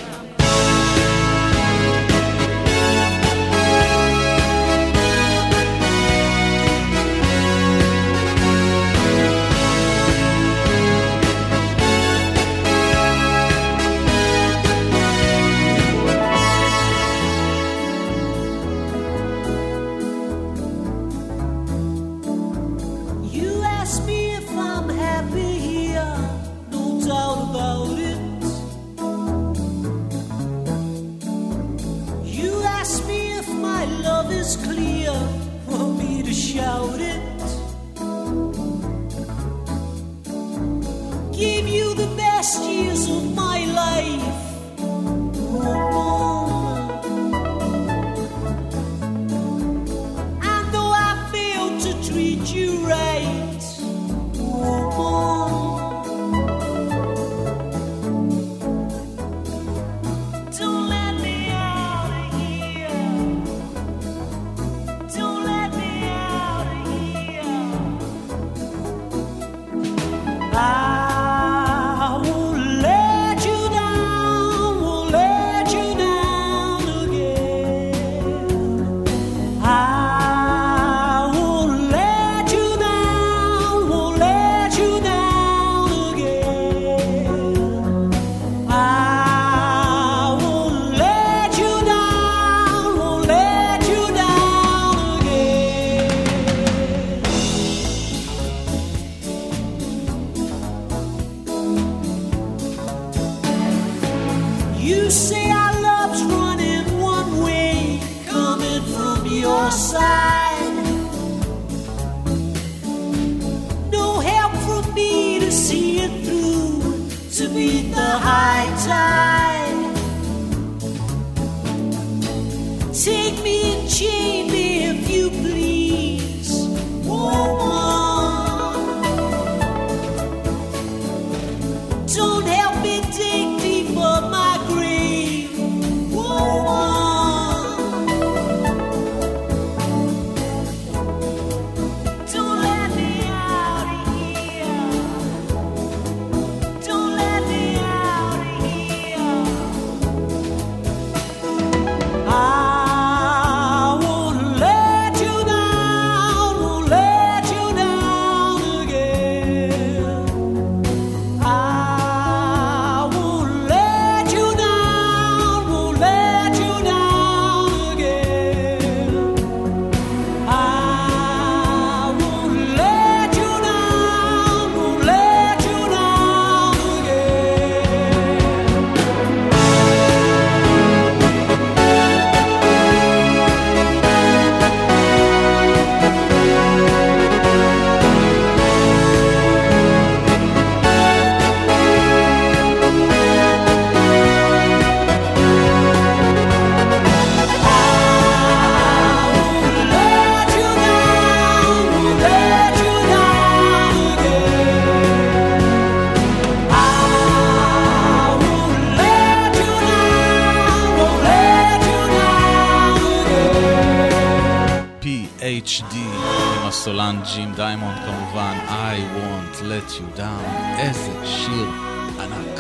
עם הסולן ג'ים דיימונד כמובן, I won't let you down. איזה שיר ענק.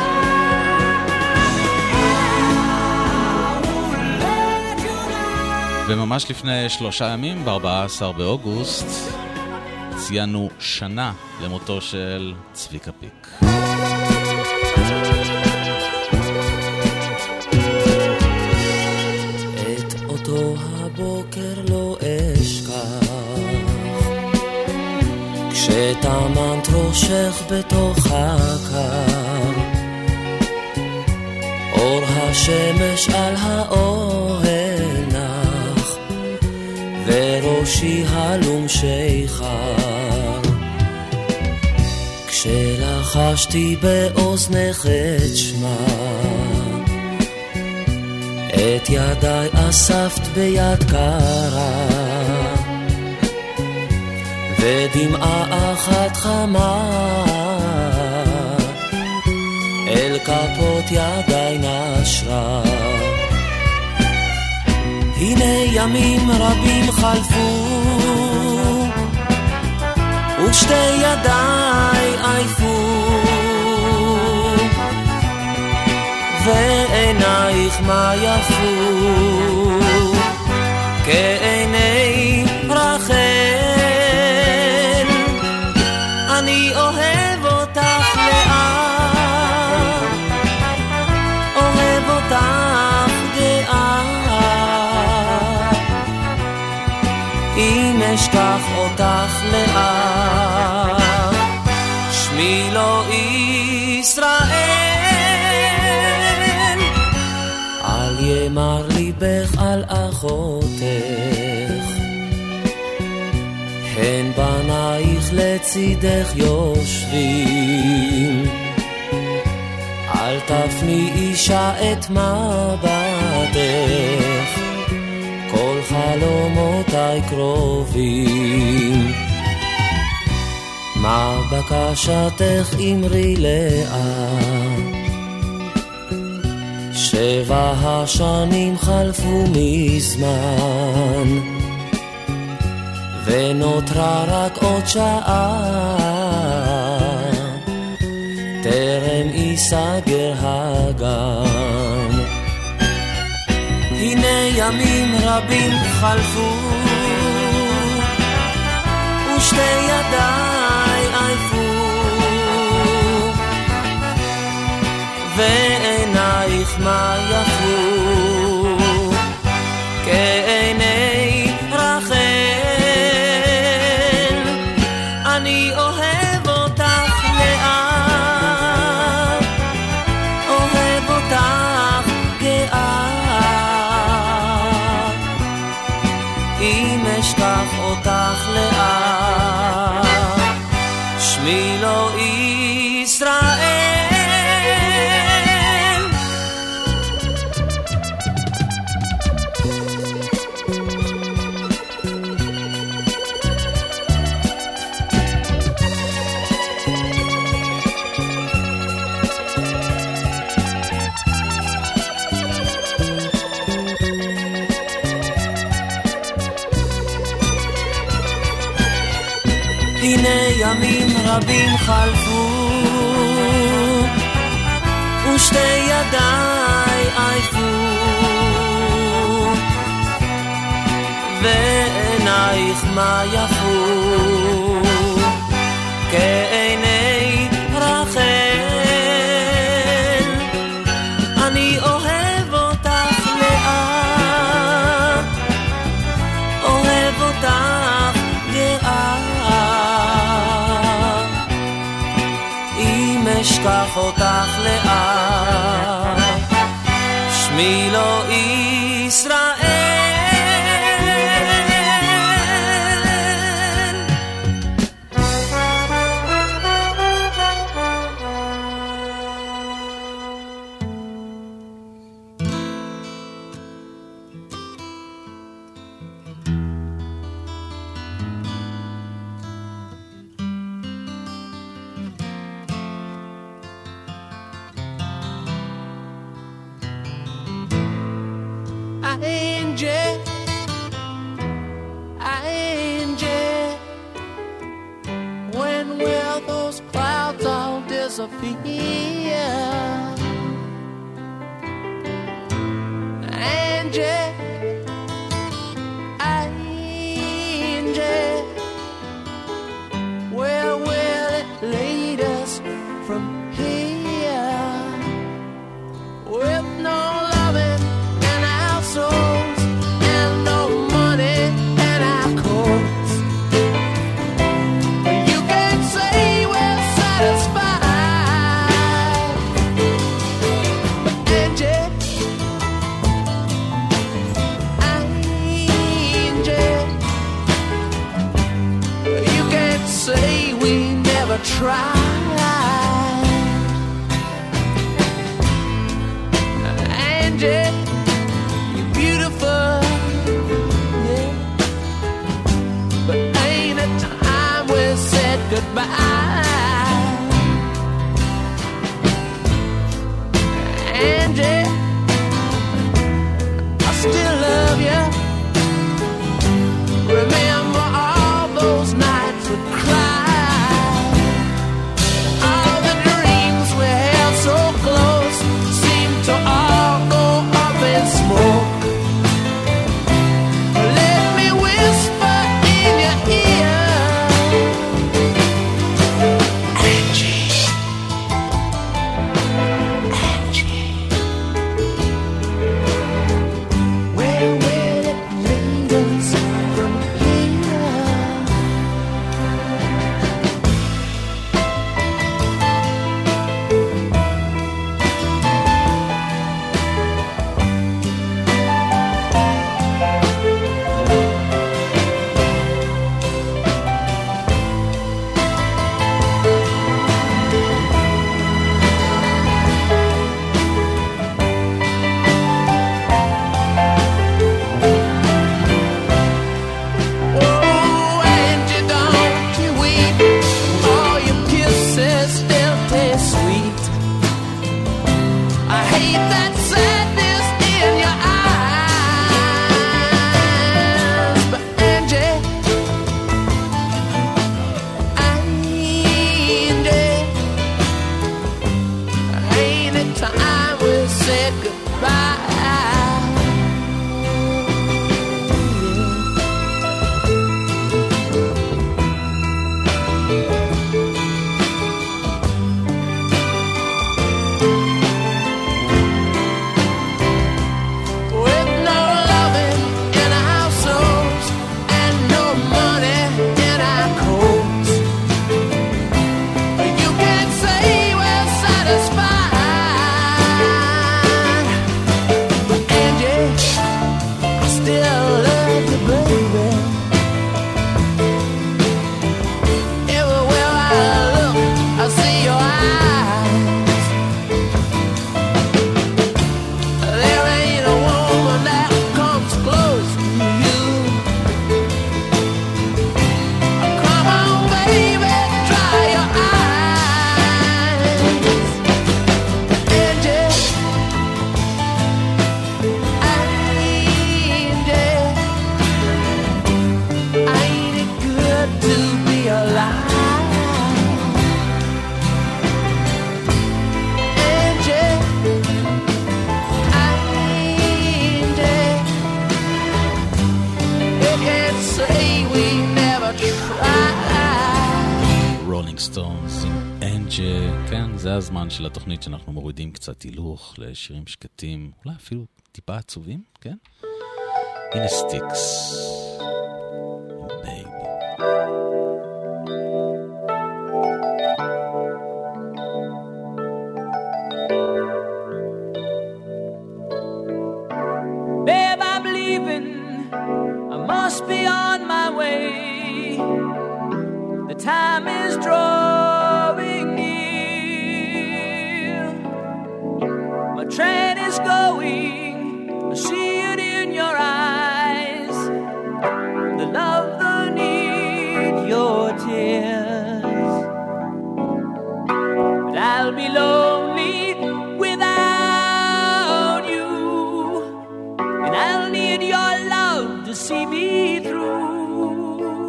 וממש לפני 3 ימים, ב-14 באוגוסט, ציינו שנה למותו של צביקה פיק. את אותו הבוקר לא אשכח, כשטמנת ראשך בתוך הקר, אור השמש על האוהל נח, וראשי הלום שיכר, כשלחשתי באוזנך את שמה, את ידיי אספת ביד קרה, ודמעה אחת חמה אל כפות ידיי נשרה. הנה ימים רבים חלפו, ושתי ידיי עייפו, עינייך מה יפו כעיני רחל, אני אוהב אותך לאט, אוהב אותך גאה, אם אשכח אותך לאט, שמי לא ישראל, אל ימר ליבך על אחותך, הן בנייך לצידך יושבים, אל תפני אישה את מבטך, כל חלומותיי קרובים, מה בקשתך אמרי לאט, 7 השנים חלפו מזמן, ונותרה רק עוד שעה, טרם ייסגר הגן. הנה ימים רבים חלפו, ושתי ידיי עייפו, ועינייך מה יפו כעיני רחל, אני אוהב אותך לאט, אוהב אותך גאה, אם אשכח אותך לאט, שמי לא ישראל. הנה ימים רבים חלפו, ושתי ידיי עייפו, ועינייך מה יפו כעיני רחל, אני אוהב אותך לאט, אוהב אותך גאה, אשכח אותך לאט, שמי לא ישראל. When will those clouds all disappear? Angie, Angie, where will it lead us from here? With no loving in our souls and no money in our coats, you can't say we're satisfied. But Angie, Angie, you can't say we never tried. Angie, you're beautiful, yeah, but ain't it time we said goodbye? Angie, I still love you. Remember all those nights we cried, all the dreams we held so close seem to all go רולינג סטונס עם אנג'ה. כן, זה הזמן של התוכנית שאנחנו מורידים קצת הילוך לשירים שקטים, אולי אפילו טיפה עצובים, כן? הנה סטיקס. Babe, I'm leaving. I must be on my way. The time is drawing near. My train is going. I see it in your eyes. The love, the need, your tears. But I'll be lonely without you. And I'll need your love to see me through.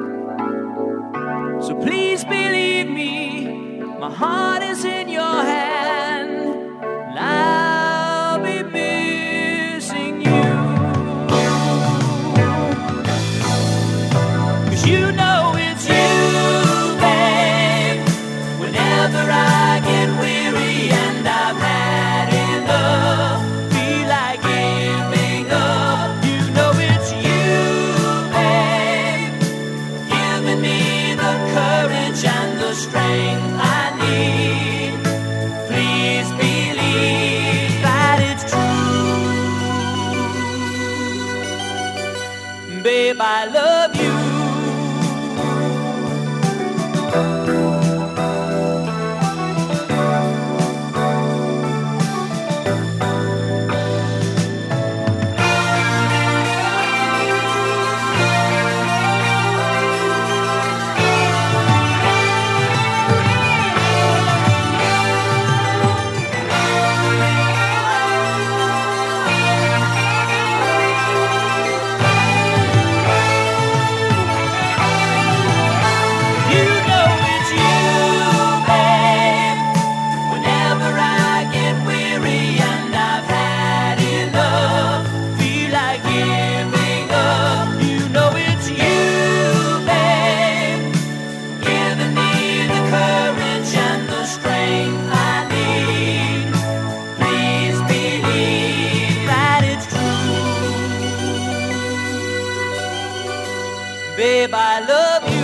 So please believe me, my heart is in your hand, and I'll be missing you. 'Cause you know it's you, babe. Whenever I get weary and I've had enough, feel like giving up. You know it's you, babe, giving me the courage and the strength I need. Please believe that it's true. Babe, I love you. You know it's you, babe. Whenever I get weary and I've had enough, feel like giving up. You know it's you, babe, giving me the courage and the strength I need. Please believe that it's true. Babe, I love you.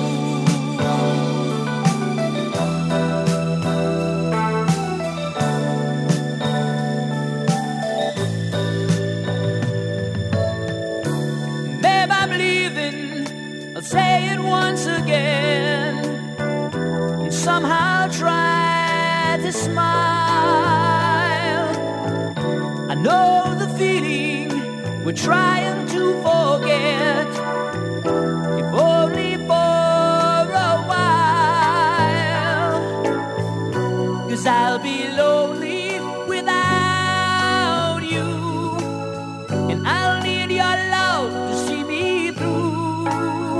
Babe, I'm leaving. I'll say it once again, and somehow try to smile. I know the feeling we're trying to forget, if only for a while. 'Cause I'll be lonely without you, and I'll need your love to see me through.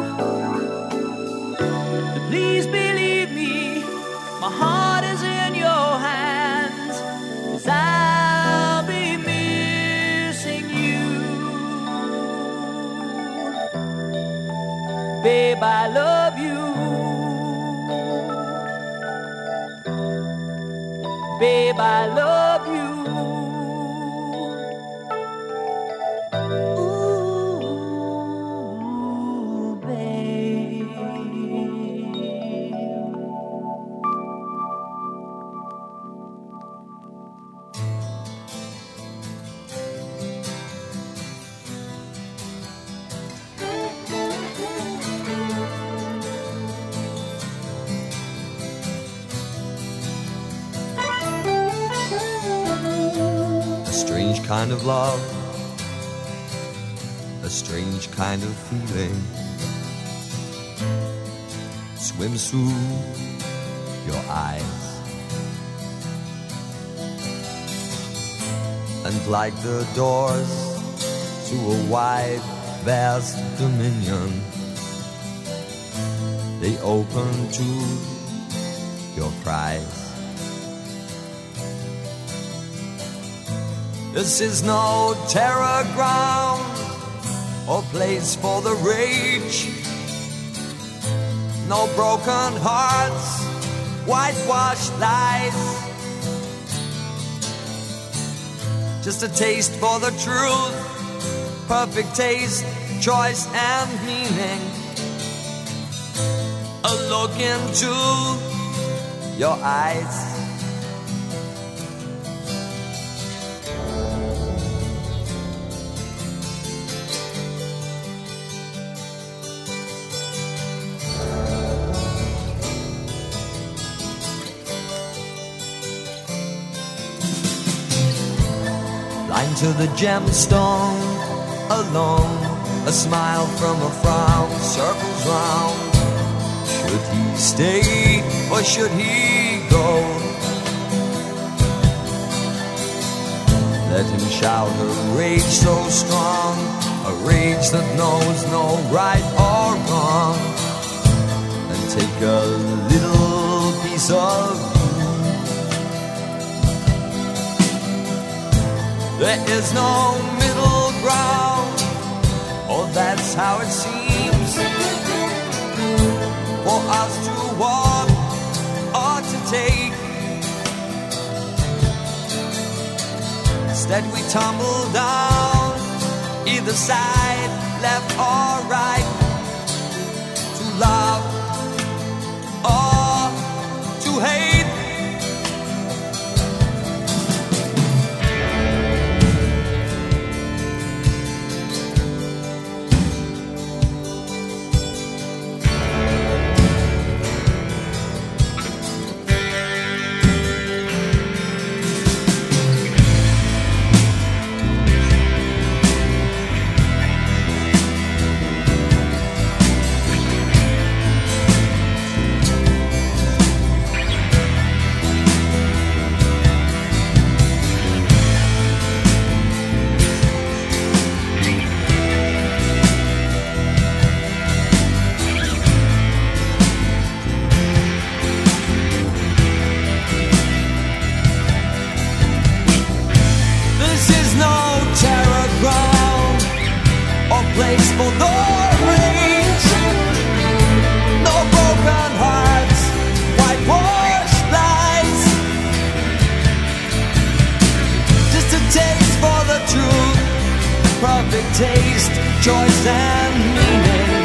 So please believe me, my heart is in your hands, 'cause I'll be missing you. Babe, I love you. Babe, I love you. Ooh, babe. A strange kind of love, a strange kind of feeling swims through your eyes, and like the doors to a wide, vast dominion, they open to your cries. This is no terror ground or place for the rage. no broken hearts, whitewashed lies. Just a taste for the truth, perfect taste, choice and meaning. A look into your eyes. Blind to the gemstone, alone, a smile from a frown circles round. Should he stay or should he go? Let him shout a rage so strong, a rage that knows no right or wrong, and take a little piece of you. There is no middle ground, oh that's how it seems, for us to walk or to take. Instead we tumble down, either side, left or right, to love or to hate. Place for the rage, no broken hearts, whitewashed lies. Just a taste for the truth, perfect taste, choice and meaning.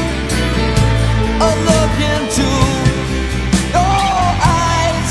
A look into your eyes.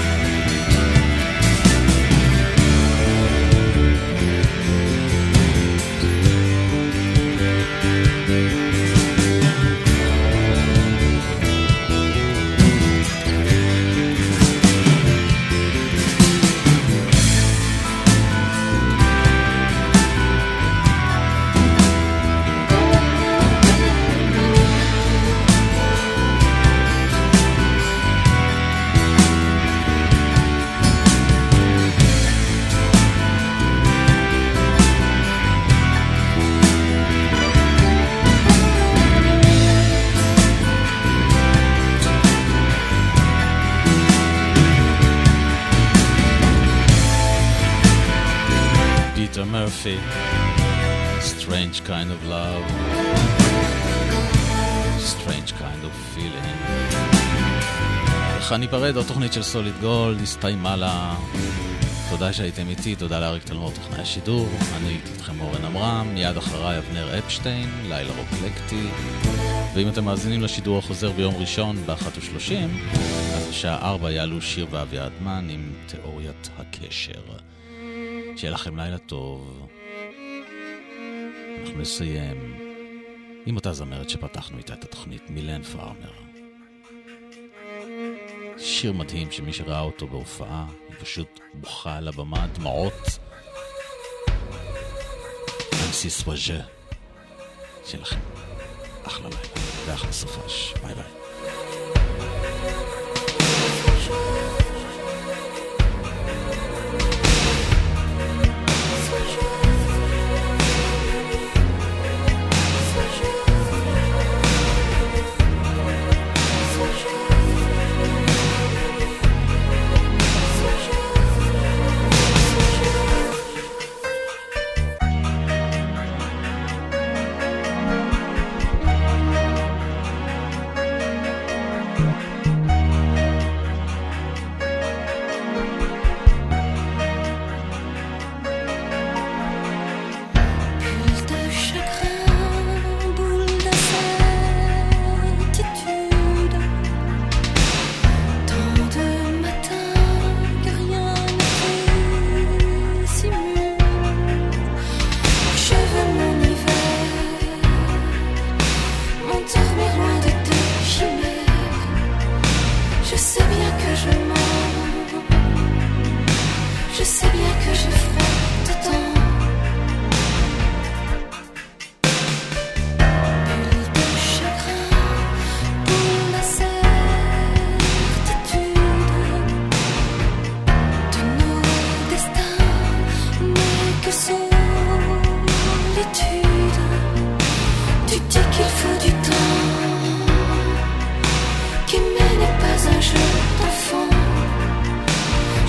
Murphy, Strange Kind of Love, Strange Kind of Feeling. איך אני פרד, עוד תוכנית של סוליד גולד, הסתיימה לה. תודה שהייתם איתי, תודה לאריק תלמור טכנאי השידור. אני הייתי איתכם אורן אמרם, מיד אחריי אבנר אפשטיין, לילה רוקלקטי. ואם אתם מאזינים לשידור החוזר ביום ראשון ב-1:30, אז בשעה 4 יעלו שיר ואביעד מן עם תיאוריית הקשר. שיהיה לכם לילה טוב. אנחנו נסיים עם אותה זמרת שפתחנו איתה את התוכנית, מילן פארמר. שיר מדהים שמי שראה אותו בהופעה היא פשוט בוכה על הבמה, דמעות. אנסי סוואז'ה. שיהיה לכם אחלה לילה ואחלה סופש. ביי ביי.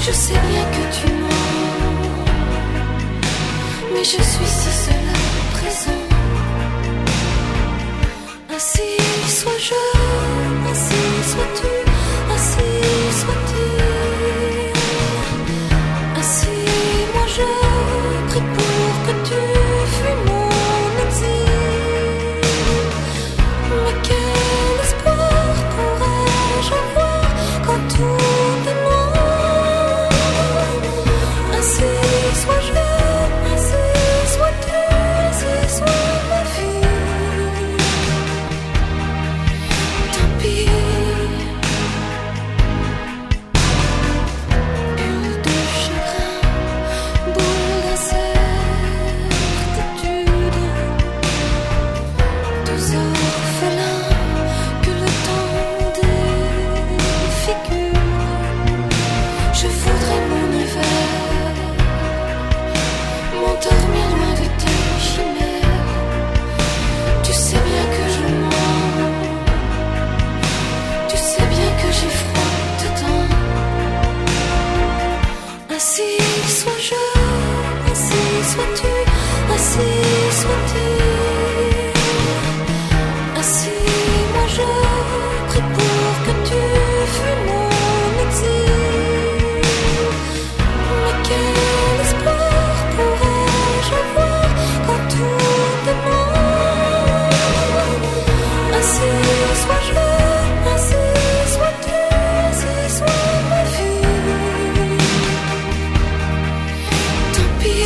Je sais bien que tu mens, mais je suis si seule à présent. Ainsi sois-je, ainsi sois-tu, ainsi sois-tu. Ainsi moi je prie pour que tu fuis mon exil. Mais quel espoir pourrais-je avoir quand tout est noir? Ainsi sois-je, ainsi sois-tu, ainsi soit ma vie. Tant pis. Bulle de chagrin, boule d'incertitude, deux orphelins que le temps défigure. Je voudrais mon hiver, m'endormir loin de tes chimères. Tu sais bien que je mens, tu sais bien que j'ai froid dedans. Ainsi sois-je, ainsi sois-tu, ainsi sois-tu. Ainsi moi je prie pour que tu fuis mon exil. Mais quel espoir pourrais-je avoir quand tout est noir? Ainsi sois-je, ainsi sois-tu, ainsi soit ma vie. Tant pis.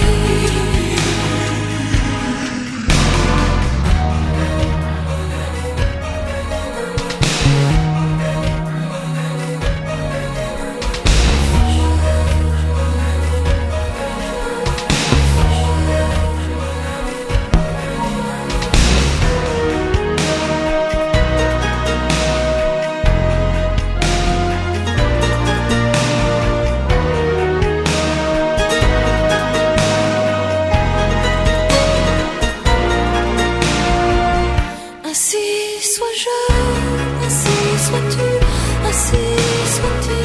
Ainsi sois-je, ainsi sois-tu, ainsi sois-tu.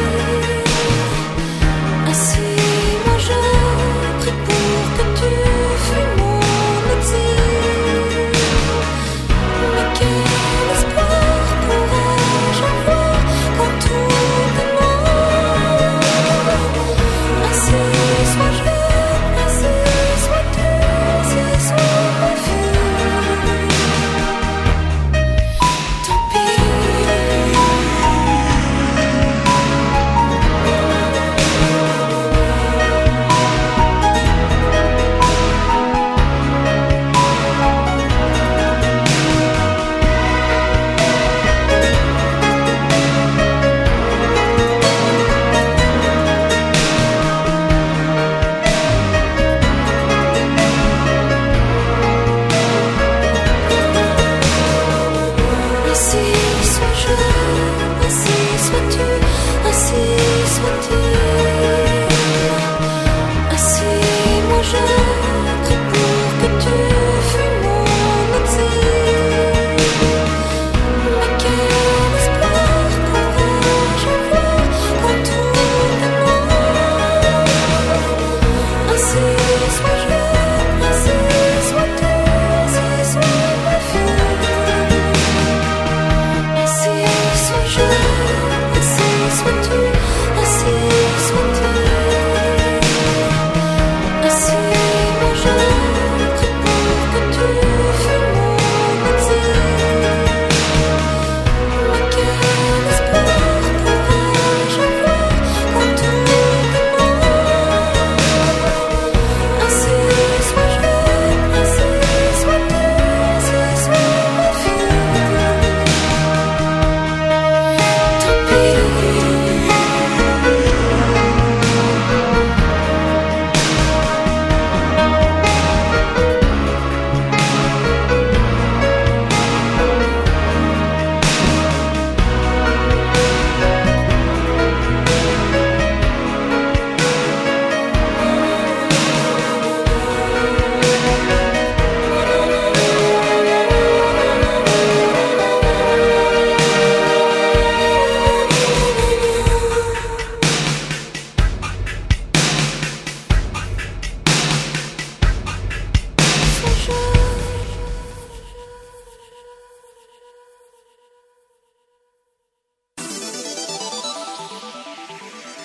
Ainsi moi je prie pour que tu fuis mon exil. Mais quel espoir pourrais-je avoir quand tout est noir? Ainsi sois-je, ainsi sois-tu, ainsi soit ma vie. Tant pis.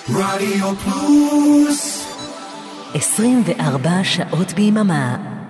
רדיו פלוס 24 שעות ביממה